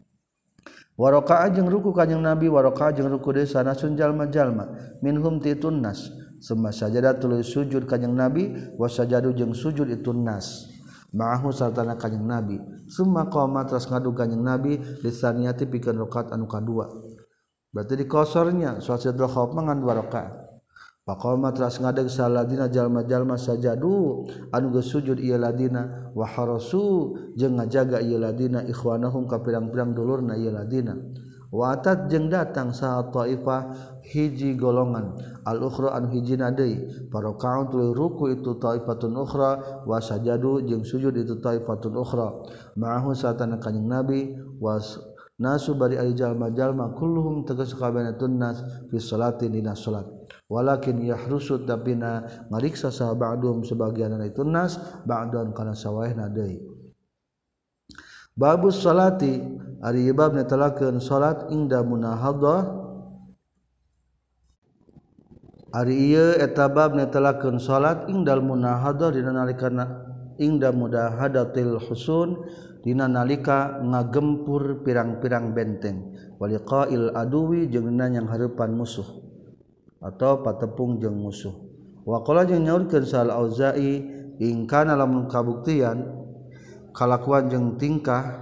wa raka'a jeung ruku kanjing Nabi wa raka'a jeung ruku deui sana jalma-jalma minhum titun nas summa sajada tuluy sujud kanjing Nabi wa sajadu jeung sujud itu nas ma'ahu sartana kanjing Nabi summa qama teras ngadu kanjing Nabi lisaniyati pikeun rakaat anu kadua berarti di kosornya salat siddatul khauf mangan dua rakaat faqama teras ngadeg saladina jalma-jalma sajadu anu geus sujud ieu ladina wa harasu jeung ngajaga ieu ladina ikhwanahum ka pirang-pirang dulurna ieu ladina wa atat jeung datang sa taifah hiji golongan al ukhra anu hijina deui parakaun tuluy ruku itu taifatun ukhra wa sajadu jeung sujud itu taifatun ukhra ma'ahu satana kanjing Nabi was nasu bari ari jalma-jalma kulluhum tegas kabehna nas fi salati dina salat walakin yahrusu tapina ngariksa saha ba'dum sebagianna itu nas ba'dan kana sawaehna deui. Babus salati ari bab netelakeun salat ingda munahadhah ari ieu eta bab netelakeun salat ingdal munahadhah dina nalikana ingda mudahadatil husun dina nalika ngagempur pirang-pirang benteng waliqail aduwi jeung dina yang hareupan musuh atau patepung jeung musuh. Wa qala jeung nyaurkeun Sal Auza'i in kana lamun kabuktian kalakuan jeung tingkah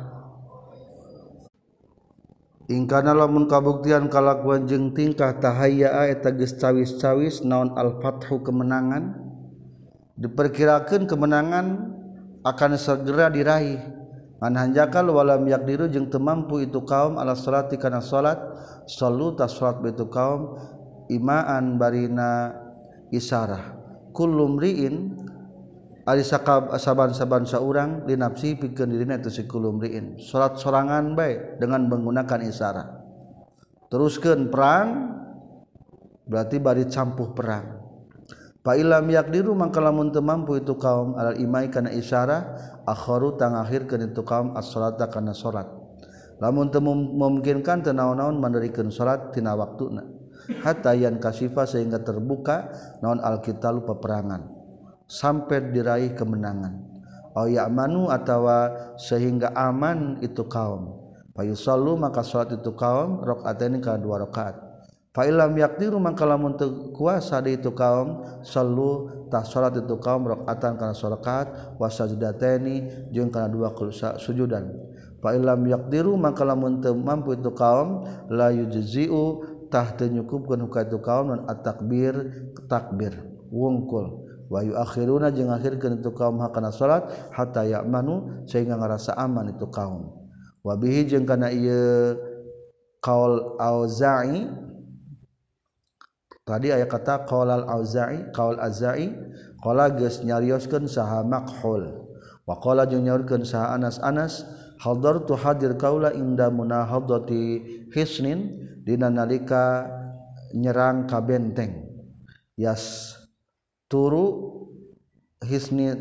in kana lamun kabuktian kalakuan jeung tingkah tahayya eta geus cawis-cawis naon al-fathu kemenangan diperkirakeun kemenangan akan segera diraih manhanjakal walam yakdiru jeung teu mampu itu kaum ala salati kana salat sallu ta salat itu kaum imaan barina isarah kullu mriin ari sakab saban-saban saurang li nafsi pikeun dirina itu si kullu mriin salat sorangan bae dengan menggunakan isarah teruskeun perang berarti bari campuh perang fa ilam yaqdiru mangka lamun teu mampu itu kaum alal imai kana isarah akharu tangakhirkeun itu kaum as-salata kana salat lamun teu memungkinkan teu naon-naon manderikeun salat tina waktuna hatta yan kasifa sehingga terbuka naon alqitalu peperangan sampai diraih kemenangan au ya'manu atawa sehingga aman itu kaum fa yusallu maka salat itu kaum rakaataini kana dua rakaat fa illam yaqdiru maka lamun teu kuasa di itu kaum sallu tah salat itu kaum rakaatan kana rakaat wa sajdataini jeung kana dua sujudan fa illam yaqdiru maka lamun teu mampu itu kaum la yujzi'u tah teu nyukupkeun ka itu kaum non at-takbir takbir wungkul wa yuakhiruna jeung akhirkeun itu kaum hakana salat hatta ya'manu sehingga ngarasa aman itu kaum wa bihi jeung kana ieu qaul Auza'i tadi aya kata qaulal Auza'i qaul Azza'i qala geus nyarioskeun saha Makhul wa qala jeung nyaurkeun saha Anas Anas hadartu hadir kaula inda munahadati hisnin dina nalika nyerang ka benteng yas turu hisni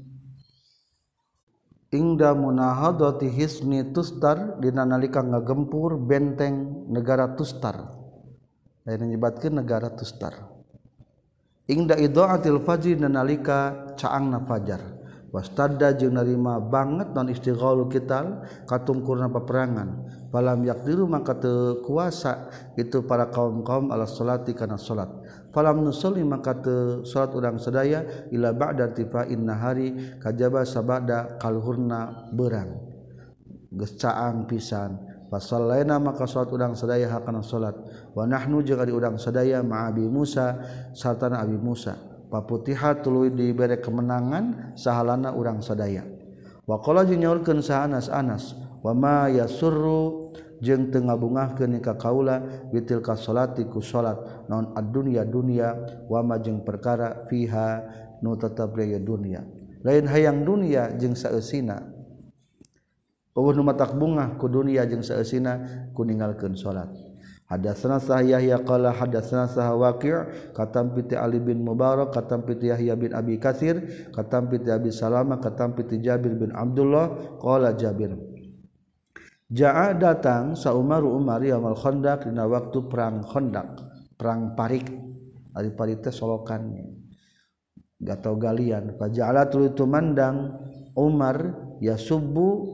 ingda munahadati hisni tustar dina nalika ngagempur benteng negara Tustar lain nyebatkeun negara Tustar ingda idaatil fajri dina nalika caangna fajar wastadda jeung narima banget non istighalu kital katungkurna peperangan falam yaqdiru maka teu kuasa itu para kaum-kaum ala salati kana salat falam nusalli maka teu salat urang sadaya ila ba'da tifa'in nahari kajaba sabada kalhurna beurang geus caang pisan fasallaina maka salat urang sadaya hakana salat wa nahnu jeung ari urang sadaya ma'abi Musa sartana Abi Musa paputihat tuluy dibere kemenangan sahalana urang sadaya wa qala jeung nyaurkeun sa Anas Anas wa ma yasurru jeung teu ngabungahkeun ka kaula bitil ka salati ku salat naon ad-dunya dunya wa ma jeung perkara fiha nu tetep aya dunya lain hayang dunya jeung saeusina eueuh nu matak bungah ku dunya jeung saeusina ku ninggalkeun salat hadatsana Yahya qala hadatsana Waqi' katam piti Ali bin Mubarak katam piti Yahya bin Abi Katsir katam piti Abi Salamah katam piti Jabir bin Abdullah qala Jabir jaa datang sa Umar Umar yaumul Khandaq dina waktu perang Khandaq perang Parik ari parik teh solokan gatau galian faja'ala tuluy tumandang Umar yasubbu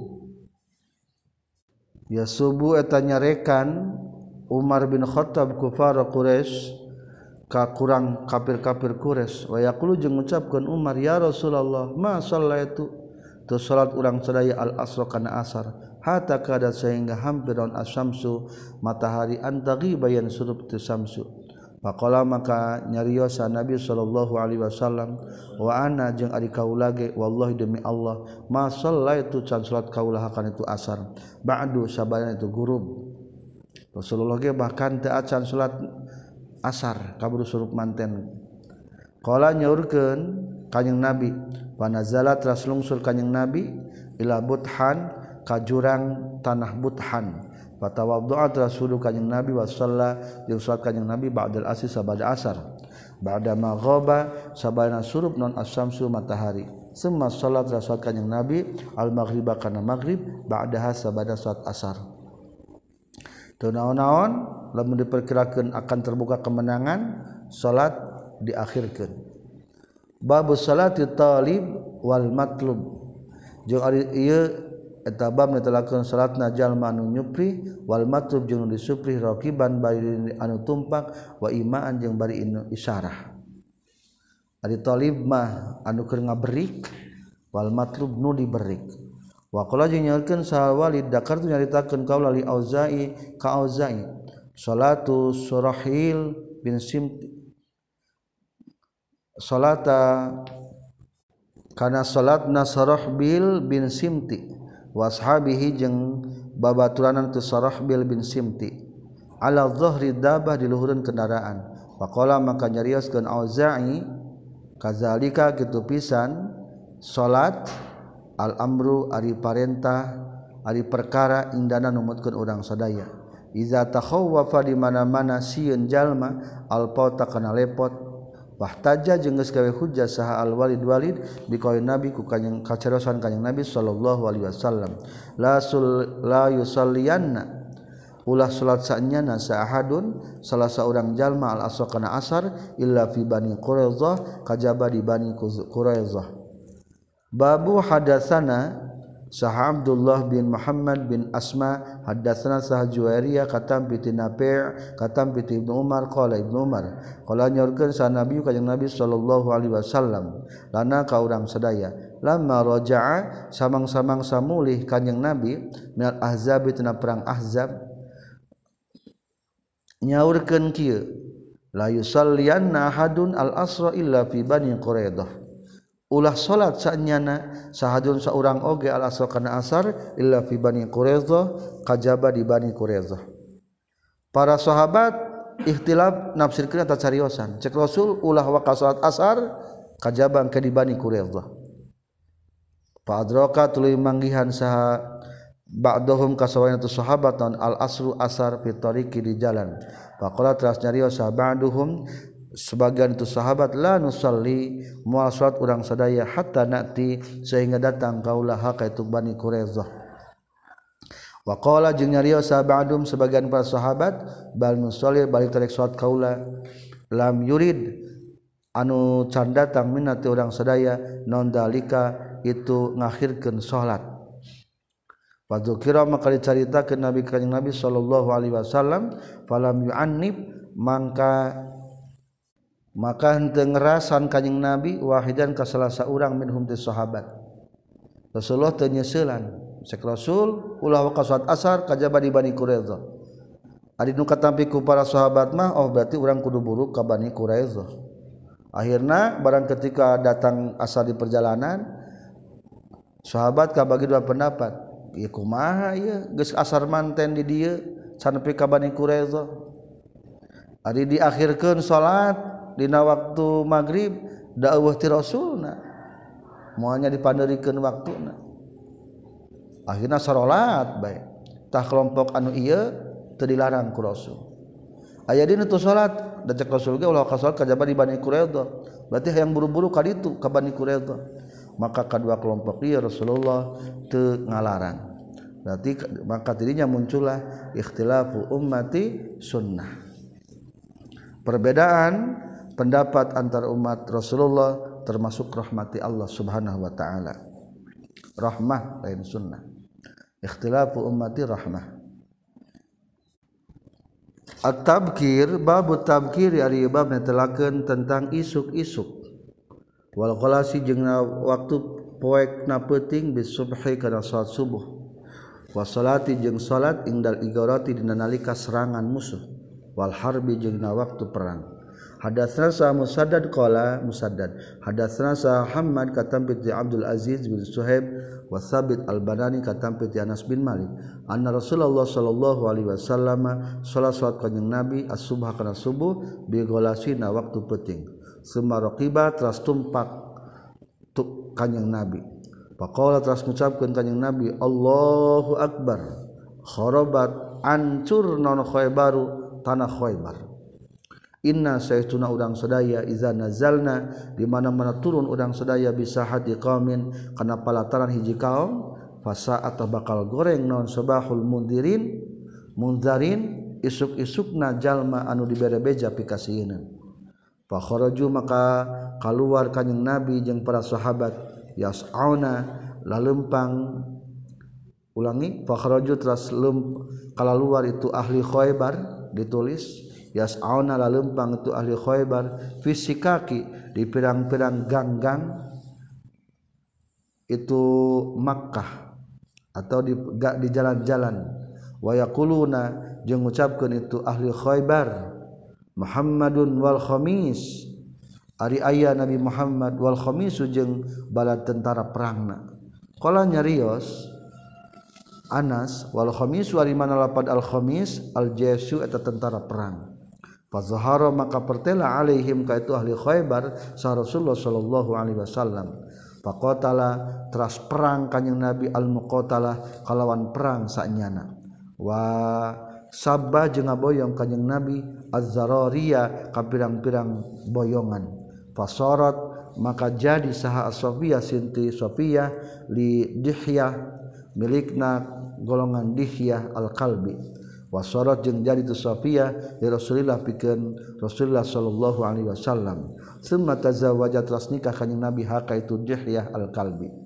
yasubbu eta nyarekan Umar bin Khattab kufar Quraisy ka kurang kafir-kafir Quraisy wa yaqulu jeung ngucapkeun Umar ya Rasulullah ma sallaitu tu salat urang sadaya al asr kana asar hatta kada sehingga hampir on asyamsu matahari antagi bayan surup tu samsu faqala maka nyariosa Nabi sallallahu alaihi wasallam wa ana jeung ari kaula ge wallahi demi Allah ma sallaitu can salat kaula hakan itu asar ba'du sabana itu gurub Rasulullah ge bahkan teu acan salat asar kaburu surup manten qala nyaurkeun kanjing Nabi wa nazalat ras lungsur kanjing Nabi ila Buthan ka jurang tanah Buthan fatawaddu'a rasulu kanjing Nabi wa shalla jeung salat kanjing Nabi ba'dal asri sabada asar ba'da maghaba sabana surup non asyamsu matahari summa salat rasul kanjing Nabi al maghriba kana maghrib ba'daha sabada salat asar teu naon-naon lamun diperkirakeun akan terbuka kemenangan salat diakhirkeun bab salati talib wal matlub jeung ari ieu eta bab netelakeun salatna jalma anu nyupri wal matlub jeung disupri raqiban bari anu tumpak wa imaan jeung bari anu isyarah ari talib mah anu keur ngaberik wal matlub nu diberik wa qala jeung nyaurkeun sa Walid dakar tu nyaritakeun kaula li Auza'i ka Auza'i salatu Surahil bin Simti salata kana salatna Surahbil bin Simti wa ashabihi jeung babaturanan tu Surahbil bin Simti ala dhahri dabah di luhureun kendaraan wa qala maka nyarioskeun Auza'i kazalika kitu pisan salat al-amru ari parentah ari perkara indana numutkeun urang sadaya iza takhawwafa di mana-mana sieun jalma al-pauta kana lepot wahtaja jeung geus gawe hujjah saha al-Walid Walid biqaul Nabi ku kanjing kacarosan kanjing Nabi sallallahu alaihi wasallam la sul la yusalliyanna ulah salat sanyana sa'ahadun salah saurang jalma al-asr kana asar illa fi bani Quraizzah kajaba di bani Quraizzah babu hadasana Sah Abdullah bin Muhammad bin Asma haddatsana sah Juwairiyah katam bi Nafi' katam bi Ibnu Umar qala Ibnu Umar qala nyorkeun sa Nabi kanjing Nabi sallallahu alaihi wasallam lana ka urang sadaya lamma raja'a samang-samang samulih kanjing Nabi minal ahzab tina perang Ahzab nyaurkeun kieu la yusalliyanna ahadun al asra illa fi bani Quraidah ulah salat saenyana sahadun saurang oge al asar kana asar illa fi bani Quraidah kajaba di bani Quraidah. Para sahabat ikhtilaf nafsirkeun eta cariosan cek Rasul ulah waka salat asar kajaba ke di bani Quraidah. Fa adraka tuluy manggihan saha ba'dahum kasawana tu sahabat al asru asar fi tariqi di jalan. Faqala teras nyarios ba'duhum sebagian itu sahabat la nusalli moal salat urang sadaya hatta nati sehingga datang kaulah ka itu Bani Quraidah. Wa qala jeung nyarios ba'dum sebagian para sahabat bal nusalli balik tarek salat kaula lam yurid anu can datang minati urang sadaya non dalika itu ngakhirkeun salat. Wa dzukira maka dicaritakeun Nabi kanjing Nabi sallallahu alaihi wasallam falam yu'annib mangka maka henteu ngerasan kanjing Nabi wahidan ka salah saurang minhum ti sahabat. Rasulullah teu nyeuselan cek Rasul ulah waka salat asar kajaba di Bani Quraidah. Ari nu katampi ku para sahabat mah oh berarti urang kudu buru ka Bani Quraidah. Akhirna barang ketika datang asar di perjalanan sahabat kabagi dua pendapat. Ieu kumaha ieu geus asar manten di dieu can nepi ka Bani Quraidah. Ari diakhirkeun salat dina waktu maghrib dakwah ti Rasulna moalnya dipanderikeun waktuna akhirna salat bae tah kelompok anu ieu teu dilarang ku Rasul aya dina tu salat da cek Rasul ge ulah ka salat kajaba di Bani Quraidah berarti hayang buru-buru ka ditu ka Bani Quraidah maka kadua kelompok ieu Rasulullah teu ngalarang berarti maka tidinya muncullah ikhtilafu ummati sunnah perbedaan pendapat antar umat Rasulullah termasuk rahmati Allah Subhanahu wa taala. Rahmah lain sunnah. Ikhtilafu ummati rahmah. At-tabkir bab tabkir ari bab netelakeun tentang isuk-isuk. Wal qalasi jeung waktu poekna peuting bis subhi kana salat subuh. Wa salati jeung salat indal igarati dina nalika serangan musuh. Wal harbi jeung waktu perang. Hadatsana sa Musaddad qala Musaddad hadatsana sa Muhammad katam bi Abdul Aziz bin Suhaib wa Thabit al-Banani katam bi Anas bin Malik anna Rasulullah sallallahu alaihi wasallam salat salat kanjing Nabi as-subha kana subuh bi ghalasina waktu peuting summa raqiba teras tumpak tu kanjing Nabi faqala teras ngucapkeun kanjing Nabi Allahu akbar kharabat ancur non Khaybaru tanah Khaybar. Inna saytuna udang sadaya iza nazalna di mana-mana turun udang sadaya bisa hati qaumin kana palataran hiji kaum fasa atau bakal goreng non sabahul mundirin munzarin isuk-isukna jalma anu dibere beja pikasieun fa kharaju maka kaluar kanjing Nabi jeung para sahabat yas'auna lalempang ulangi fa kharaju teras lem kalaluar itu ahli Khaybar ditulis yas'auna lalempang itu ahli Khaybar fisikaki di pirang-pirang gang-gang itu Makkah atau di di jalan-jalan wa yaquluna jeung ngucapkeun itu ahli Khaybar Muhammadun wal khamis ari aya Nabi Muhammad wal khamis jeung bala tentara perangna qala nyarios Anas wal khamis ari mana lapad al khamis al jaysu eta tentara perang fazahara maka pertela alaihim ka itu ahli Khaybar sa Rasulullah sallallahu alaihi wasallam faqatala teras perang kanjing Nabi al muqatalah kalawan perang sanyana wa sabba jeung ngaboyong kanjing Nabi az-zarariya ka pirang-pirang boyongan fasarat maka jadi saha Sofia sinti Sofia li Dihyah milikna golongan Dihyah al-Kalbi wasarat jeung jadi tu Safiyah li Rasulillah pikeun Rasulullah sallallahu alaihi wasallam summa tazawwajat ras nikah kanjing Nabi haka itu Dihyah al-Kalbi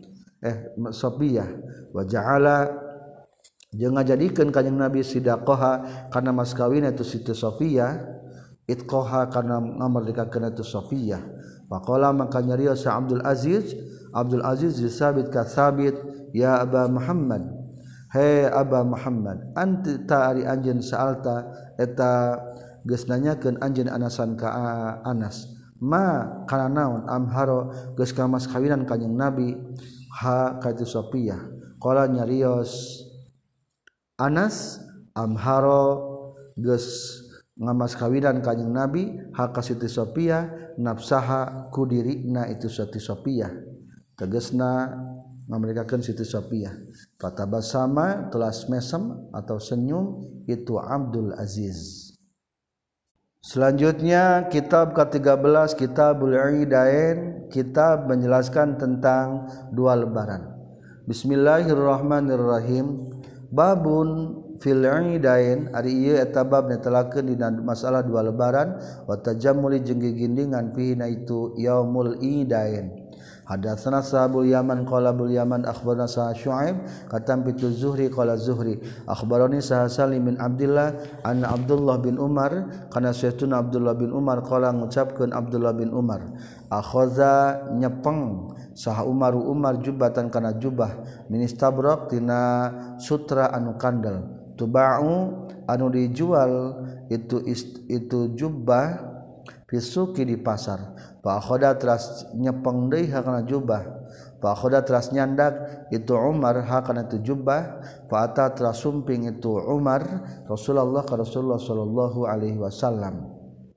eh Sofiyah wa ja'ala jeung ngajadikeun kanjing Nabi sidaqaha kana mas kawin itu Siti Sofiyah itqaha kana ngamerdekakeun itu Sofiyah faqala maka nyarios sa Abdul Aziz Abdul Aziz disabit ka sabit ya Aba Muhammad he Aba Muhammad anti ta ari anjeun saalta eta geus nanyakeun anjeun Anasan ka Anas ma kana naon amharo geus ka mas kawinan kanjing Nabi ha ka itu Sofiyah qala nyarios Anas amharo geus ngamas kawinan kanjing Nabi ha ka Siti Sofiyah nafsaha ku dirina itu Siti Sofiyah tegasna ngamerikakeun Siti Sofiyah fatabasama telas mesem atau senyum itu Abdul Aziz. Selanjutnya kitab ke tiga belas Kitabul Idain, kitab menjelaskan tentang dua lebaran. Bismillahirrahmanirrahim. Babun fil Idain, ari ieu eta bab netelakeun dina masalah dua lebaran wa tajammuli jeung gigindingan fihi na itu yaumul Idain. Hadatsana Sahabul Yaman qala Abul Yaman akhbarana Sa Syuaib katam pitu Zuhri qala Zuhri akhbarani Sa Salim bin Abdullah anna Abdullah bin Umar kana sayyiduna Abdullah bin Umar qala ngucapkeun Abdullah bin Umar akhaza nyepeng saha Umar Umar jubatan kana jubah min istabrak tina sutra anu kandel tuba'u anu dijual itu itu jubah fisuki di pasar fa khoda teras nyepeng deui hakana jubah fa khoda teras nyandak itu Umar hakana itu jubah fa ata teras sumping itu Umar Rasulullah ka Rasulullah sallallahu alaihi wasallam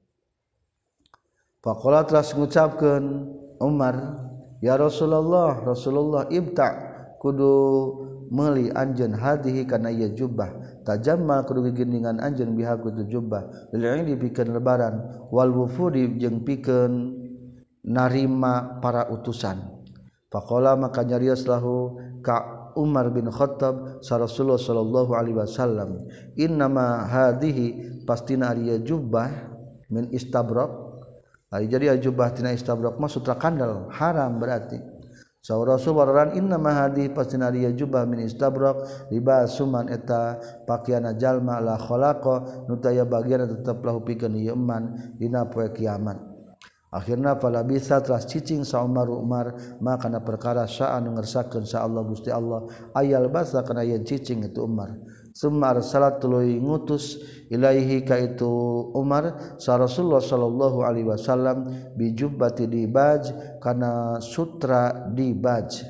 fa qala teras ngucapkeun Umar ya Rasulullah Rasulullah ibta kudu meuli anjeun hadihi kana ieu jubah tajammal kudu gigindingan anjeun biha kudu jubah lil dipikeun lebaran wal wufudi jeung pikeun narima para utusan faqala maka nyarios lahu ka Umar bin Khattab sa Rasulullah sallallahu alaihi wasallam innama hadhihi pastina ari jubah min istabrak ari jadi jubah tina istabrak mah sutra kandel haram berarti sa Rasul wararan innama hadhihi pastina ari jubah min istabrak libasuman eta pakaiana jalma la khalaqa nutaya bagian tetep lahu pikeun ieu eman dina poe kiamat. Akhirna fala bisa teras cicing sa Umar Umar maka kana perkara sa anu ngersakeun sa Allah Gusti Allah ayal basa kana yen cicing itu Umar summa arsalat tuluy ngutus ilaihi ka itu Umar sa Rasulullah sallallahu alaihi wasallam bi jubbati dibaj kana sutra dibaj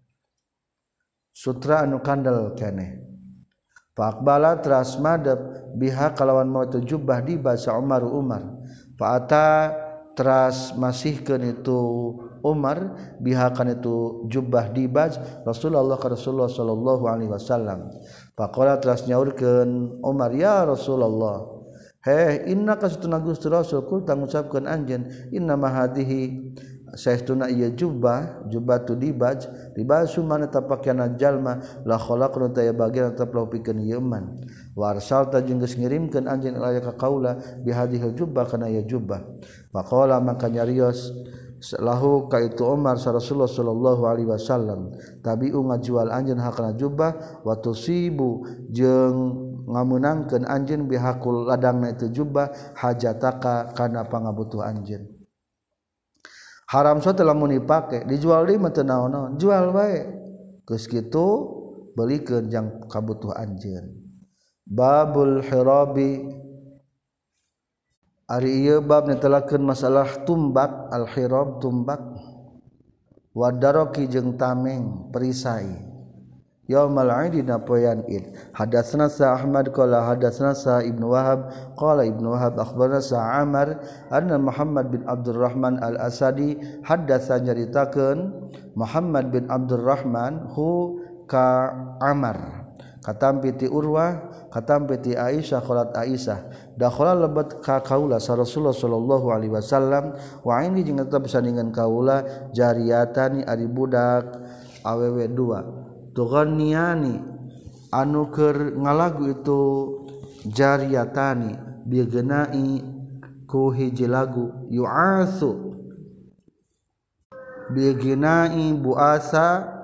sutra anu kandel keneh fa aqbala teras madep biha kalawan maut jubbah dibaj sa Umar Umar fa ata teras masihkeun itu Umar bihakan itu jubah dibaj Rasulullah ka Rasulullah sallallahu alaihi wasallam faqala teras nyaurkeun Umar ya Rasulullah he inna kasutuna Gusti Rasul kul tangucapkeun anjeun inna ma hadhihi saestuna ieu jubah jubatu dibaj dibasu mana tapakiana jalma la khalaqna taya bagian tetep lahu pikeun ieu eman wa arsalta jeung geus ngirimkeun anjeun ilaya ka kaula bi hadhihi jubah kana ieu jubah faqala maka nyarios lahu ka itu Umar sa Rasulullah sallallahu alaihi wasallam tabi'u ngajual anjeun hakana jubah wa tusibu jeung ngamunangkeun anjeun bihaqul ladangna itu jubah hajataka kana pangabutuh anjeun haram sote lamun dipake dijual deui mah teu naon-naon jual bae geus kitu beulikeun jang kabutuh anjeun. Babul hirabi ari ieu bab netelakeun masalah tumbak al hirab tumbak wa daraki jeung tameng perisai yaumal aid dina poean id. Hadatsana sa Ahmad qala hadatsana sa Ibnu Wahab qala Ibnu Wahab akhbarana sa Amr anna Muhammad bin Abdurrahman al-Asadi hadatsa nyaritakeun Muhammad bin Abdurrahman hu ka Amr katam piti Urwah katam piti Aisyah qalat Aisyah dakhala lebat ka kaula sa Rasulullah sallallahu alaihi wasallam wa ini jeung tetep sandingan kaula jariyatani ari budak awewe dua tughanniyani anu keur ngalagu itu jariyatani bigenai ku hiji lagu yu'atsu bigenai buasa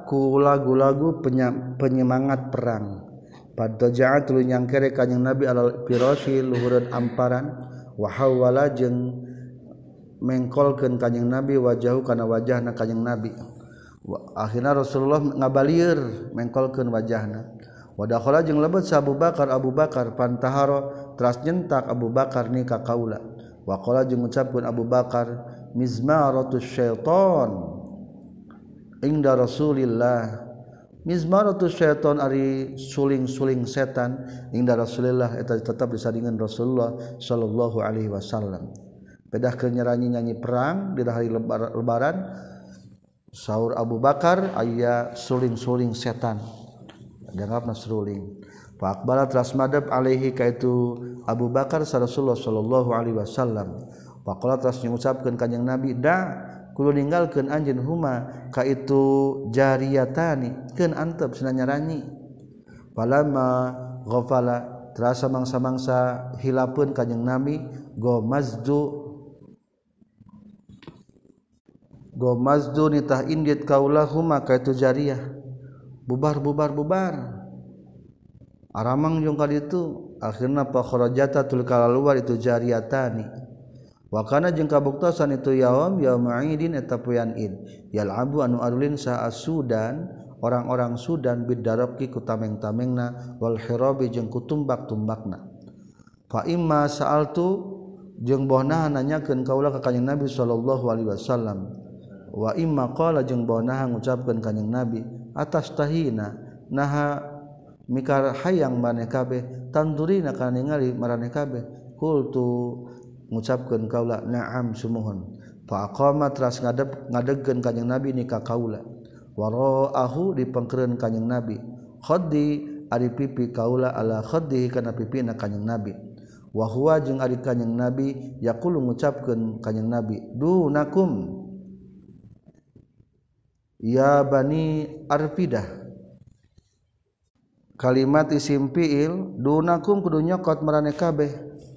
ku lagu-lagu penyemangat perang. Padaja'at tuluy nyangkere kanjing Nabi alal firasyi luhureun amparan wa hawala jeung mengkolkeun kanjing Nabi wajahu kana wajahna kanjing Nabi. Akhirna Rasulullah ngabalieur mengkolkeun wajahna. Wa dakhala jeung lebet sa Abu Bakar Abu Bakar pantaharo teras nyentak Abu Bakar ni ka kaula. Wa qala jeung ngucapkeun Abu Bakar mizmaratus syaiton inda Rasulillah. Mizmaratus syaiton ari suling-suling setan inda Rasulillah eta tetep disandingan Rasulullah sallallahu alaihi wasallam. Pedah keur nyeranyi nyanyi perang di hari lebaran saur Abu Bakar aya suling-suling setan dianggapna suling fa aqbala teras madep alaihi kaitu Abu Bakar sa Rasulullah sallallahu alaihi wasallam fa qala teras ngucapkeun kanjing Nabi da kudu ninggalkeun anjeun huma kaitu jariyatani keun antep cenah nyaranyi falamma ghafala terasa mangsa-mangsa hilapeun kanjing Nabi go mazdu go mazdu nitah indit kaulahuma kaitu jariyah bubar bubar bubar aramang jeung ka ditu akhirna fa kharajata tul kalaluar itu jariyatani wa kana jeung kabuktosan itu yaum yaum idin eta poean id yalabu anu arulin sa asudan orang-orang Sudan bidarabki ku tameng-tamengna wal hirabi jeung ku tumbak-tumbakna fa imma sa'altu jeung bohna nanyakeun kaula ka kanjing Nabi sallallahu alaihi wasallam wa imma qala jeung bohna ngucapkeun kanjing Nabi atas tahina naha mikar hayang maneh kabeh tandurina kana ningali maraneh kabeh qultu ngucapkeun kaula na'am sumuhun fa aqama teras ngadep ngadegkeun kanjing Nabi ni ka kaula waraahu dipengkereun kanjing Nabi khaddi ari pipi kaula ala khaddi kana pipina kanjing Nabi wa huwa jeung ari kanjing Nabi yaqulu ngucapkeun kanjing Nabi dunakum ya bani arfidah kalimat isim fiil dunakum kudu nyokot maraneh kabeh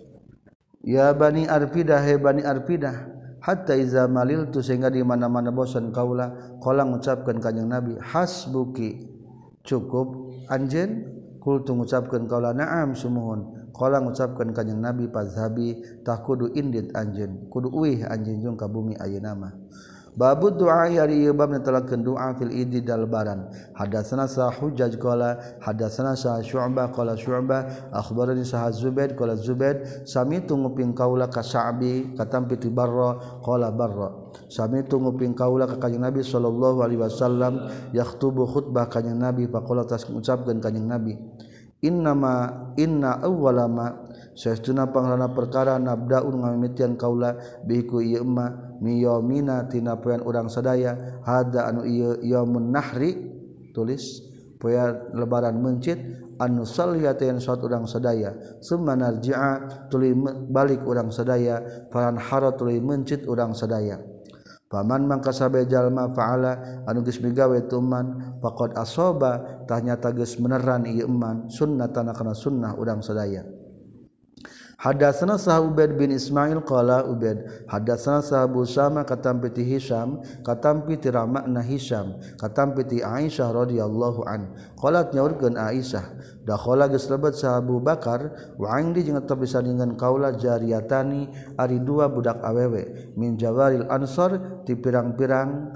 ya bani arfidah he bani arfidah hatta iza maliltu sehingga di mana-mana bosan kaula qala ngucapkeun kanjing Nabi hasbuki cukup anjeun kultu ngucapkeun kaula na'am sumuhun qala ngucapkeun kanjing Nabi fazhabi tah kudu indit anjeun kudu uih anjeun jeung ka bumi ayeuna mah Babu doa hari ieu bab netelakeun doa fil idi dal lebaran. Hadatsana sa Hujjaj qala hadatsana sa Syu'bah qala Syu'bah akhbarani sa Zubaid qala Zubaid samitu nguping kaula ka Sa'bi katampi ti Barra qala Barra samitu nguping kaula ka kanjing Nabi sallallahu alaihi wasallam yakhutubu khutbah kanjing Nabi faqala tas ngucapkeun kanjing Nabi innama inna awwalama saestuna pangrana perkara nabdaun ngamimitian kaula biku ieu emma miyamina tina poean urang sadaya hada anu ieu yaumun nahri tulis poean lebaran mencit anu saliyatan saat urang sadaya summa narji'a tuluy balik urang sadaya faran hara tuluy mencit urang sadaya paman mangka sabe jalma fa'ala anu geus migawe tuman faqad asaba tah nyata geus meneran ieu eman sunnatan kana sunnah urang sadaya. Hadatsana Sah Ubaid bin Ismail qala Ubaid hadatsana Sah Abu Sama katampi ti Hisam katampi ti ramakna Hisam katampi ti Aisyah radhiyallahu an qalat nyaurkeun Aisyah dakhala geus lebet Sah Abu Bakar wa indi jeung tetep disandingan kaula jariyatani ari dua budak awewe min jawaril ansor ti pirang-pirang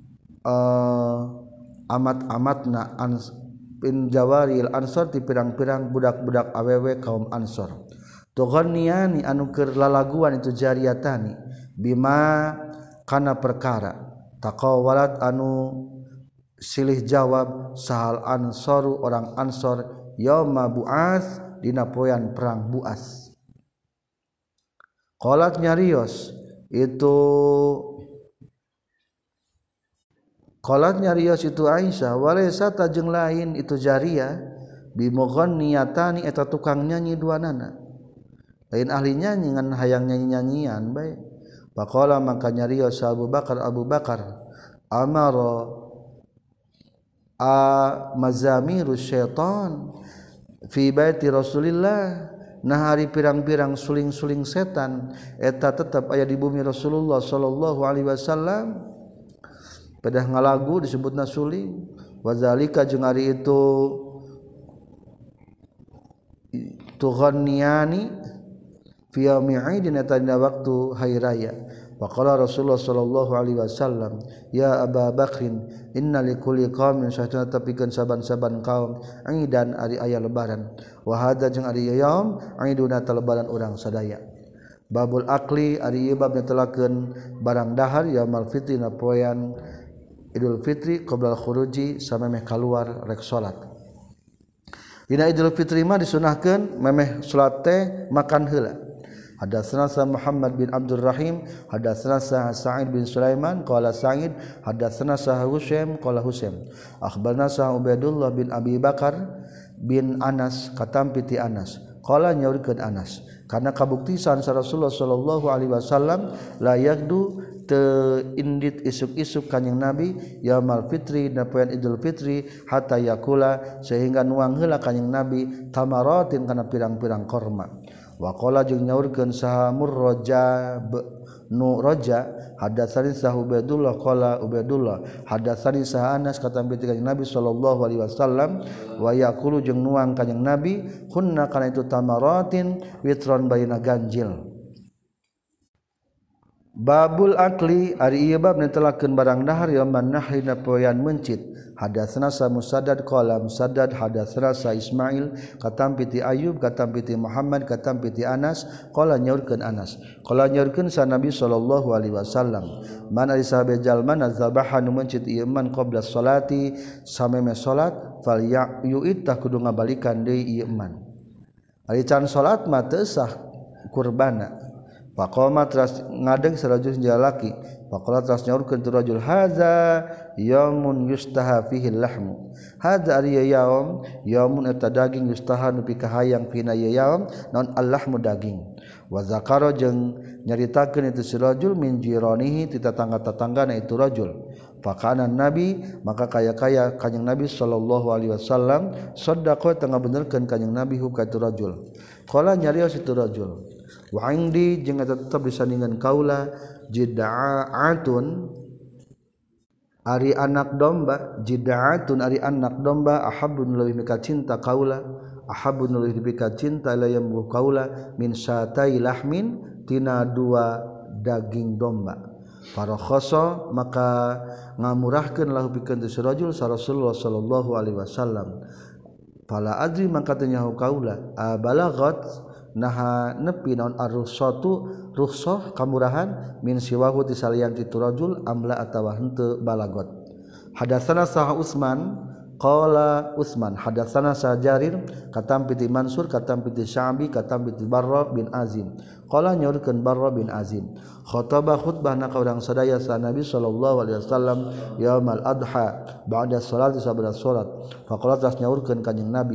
uh, amat-amatna ans bin jawaril ansor ti pirang-pirang budak-budak awewe kaum ansor tughanniyani anu keur lalaguan itu jariyatani bima kana perkara taqawalat anu silih jawab sahal ansaru orang ansor yauma buas dina poean perang buas qalat nyarios itu qalat nyarios itu Aisyah walaysa tajeng lain itu jariyah bimughanniyatani eta tukang nyanyi duanana lain ahli nyanyi ngan hayang nyanyi-nyanyian bae faqala maka nyarios Abu Bakar Abu Bakar amara a mazamiru syaitan fi baiti Rasulillah nah hari pirang-pirang suling-suling setan eta tetap aya di bumi Rasulullah sallallahu alaihi wasallam pedah ngalagu disebutna suling. Wazalika jeung ari itu tughanniyani fi yaumi aidin eta dina waktu hari raya. Waqala Rasulullah sallallahu alaihi wasallam, ya Aba Bakrin, inna likulli qaumin syahatan tapikeun saban-saban kaum aidan ari aya lebaran. Wa hadza jeung ari yaum aiduna ta lebaran urang sadaya. Babul akli ari ieu bab netelakeun barang dahar yaumul fitri na poean Idul Fitri qabla khuruji samemeh kaluar rek salat. Dina Idul Fitri mah disunahkeun memeh salat teh makan heula. Hadatsana Muhammad bin Abdul Rahim, hadatsana Sa'id bin Sulaiman qala Sa'id, hadatsana Husaim qala Husaim. Akhbarna Ubaidullah bin Abi Bakar bin Anas katampi ti Anas. Qala nyaurikeun Anas, karena kabuktisan sa Rasulullah sallallahu alaihi wasallam la yaqdu teu indit isuk-isuk kanjing Nabi yaumul fitri na poean Idul Fitri hatta yakula sehingga nuang heula kanjing Nabi tamaratin kana pirang-pirang korma. Wa qala jeung nyaurkeun saha Murraja nu Raja hadatsani saha Ubaidullah qala Ubaidullah hadatsani saha Anas katampi ti kanjing Nabi sallallahu alaihi wasallam wa yaqulu jeung nuang kanjing Nabi hunna kana itu tamaratin witron baina ganjil. Babul akli ari ieu bab netelakeun barang dahar yaumman nahri na poean mencit. Hadatsana sa Musaddad qala Musaddad hadatsana sa Ismail katampi ti Ayyub katampi ti Muhammad katampi ti Anas qala nyaurkeun Anas qala nyaurkeun sa Nabi sallallahu alaihi wasallam man ari sahabe jalma nazabaha nu mencit ieu man qabla sholati sameme salat fal yu'id tah kudu ngabalikan deui ieu man ari can salat mah teu sah kurbana. Faqama teras ngadeng sarajul jalaki faqala teras nyaurkeun tu rajul haza yaumun yustaha fihi lahmu haza ari yaum yaumun eta daging yustaha nu pikahayang pina yaum naon allahmu daging wa zakara jeung nyaritakeun itu si rajul min jiranihi ti tetangga-tetanggana itu rajul faqana nabi maka kaya-kaya kanjing Nabi sallallahu alaihi wasallam sadaqah tengah benerkeun kanjing Nabi hukah itu rajul qala nyarios itu rajul wa indi jeung eta tetep disandingan kaula jid'atun ari anak domba jid'atun ari anak domba ahabbun leuwih mika cinta kaula ahabbun leuwih mika cinta layam kaula min satai lahmin tina dua daging domba farakhasa maka ngamurahkeun lahu pikeun tu rajul sa Rasulullah sallallahu alaihi wasallam fala adri maka tanya kaula abalaghat naha nepi naon ar-rukhsatu rukhsah kamurahan min siwahu ti salian ti rajul amla atawa henteu balagot. Hadatsana sah Utsman qala Utsman hadatsana sah Jarir katampi ti Mansur katampi ti Sya'bi katampi ti Barra bin Azim qala nyaurkeun Barra bin Azim khataba khutbahna ka urang sadaya sa Nabi sallallahu alaihi wasallam yaumul adha ba'da salat sabda salat faqala tas nyaurkeun kanjing Nabi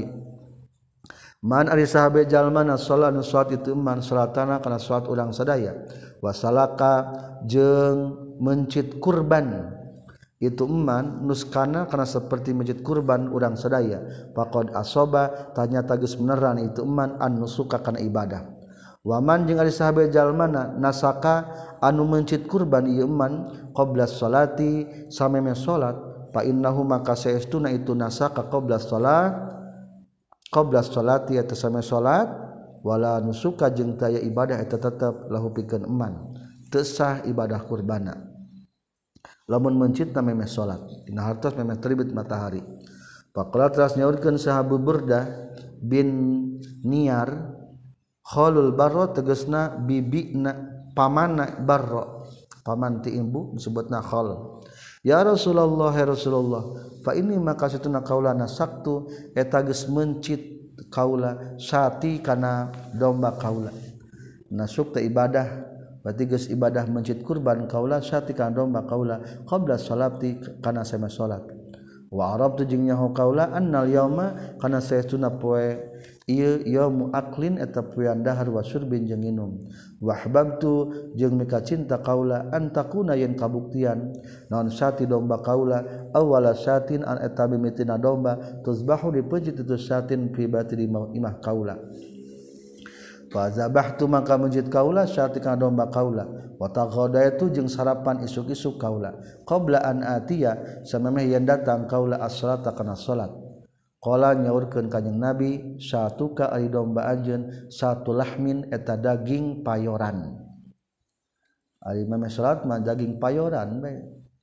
man ari sahabe jalma na salat nu salat itu man salatana kana salat urang sadaya wasalaka jeung mencit kurban itu eman nuskana kana seperti mencit kurban urang sadaya faqad asoba tanya tagis beneran itu eman an nusuka kana ibadah waman jeung ari sahabe jalmana nasaka anu mencit kurban ieu eman qabla sholati sameme salat fa innahu maka saestuna itu nasaka qabla salat qabla sholati eta same salat wala nusuka jeung taya ibadah eta tetep lahu pikeun eman teu sah ibadah kurbana lamun mencitna memeh salat dina hartos memeh terbit matahari faqala teras nyaurkeun sahabu Burdah bin Niyar khalul barra tegasna bibina pamanna barra paman ti ibu disebutna khal ya Rasulullah ya Rasulullah fa ini maka satuna kaulana saktu eta geus mencit kaula sati kana domba kaula nasuk teh ibadah berarti geus ibadah mencit kurban kaula sati kana domba kaula qabla salati kana sama salat wa arabtu jeung nyaho kaula annal yauma kana saestuna poe ieu yaumu aklin eta poean dahar wa syurbin jeung nginum wa ahbabtu jeung mika cinta kaula antakuna yen kabuktian naon sati domba kaula awala satin an eta mimitina domba tuzbahu dipeujit itu satin fi batri imah kaula fa zabahtu maka mujid kaula syatika domba kaula wa taqadaitu jeung sarapan isuk-isuk kaula qabla an atiya samemeh yen datang kaula as-salata kana salat qala nyaurkeun kanjing nabi syatuka ari domba anjeun satu lahmin eta daging payoran ari memeh salat mah daging payoran bae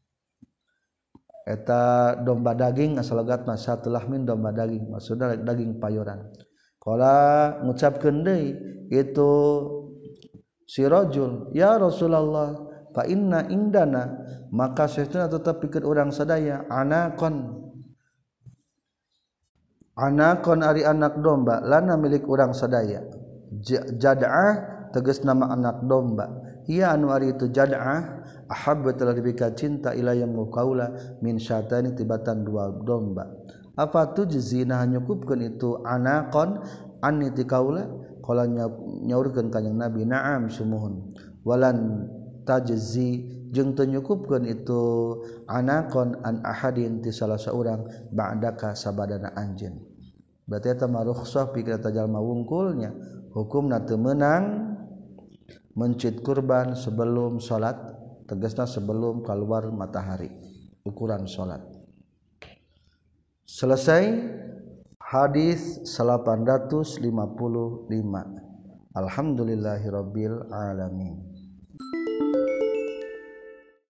eta domba daging asal logatna satu lahmin domba daging maksudna daging payoran qala ngucapkeun deui itu si rajul ya Rasulullah fa inna indana maka sesuna tetep pikeun urang sadaya anakon anakon ari anak domba lana milik urang sadaya jad'ah tegas nama anak domba ia anu ari itu jad'ah ahabba telah dibika cinta ilayya muqaula min syatani tibatan dua domba apa tu jizina nyukupkeun itu anakon anni ti kaula qala nyaurkeun kanjing nabi na'am sumuhun walan tajzi jeung teu nyukupkeun itu anakon an ahadin ti salah saurang ba'daka sabadana anjeun berarti eta mah rukhsah pikeun eta jalma wungkulnya hukumna teu meunang mencit kurban sebelum salat tegasna sebelum keluar matahari ukuran salat selesai hadis delapan ratus lima puluh lima alhamdulillahirabbil alamin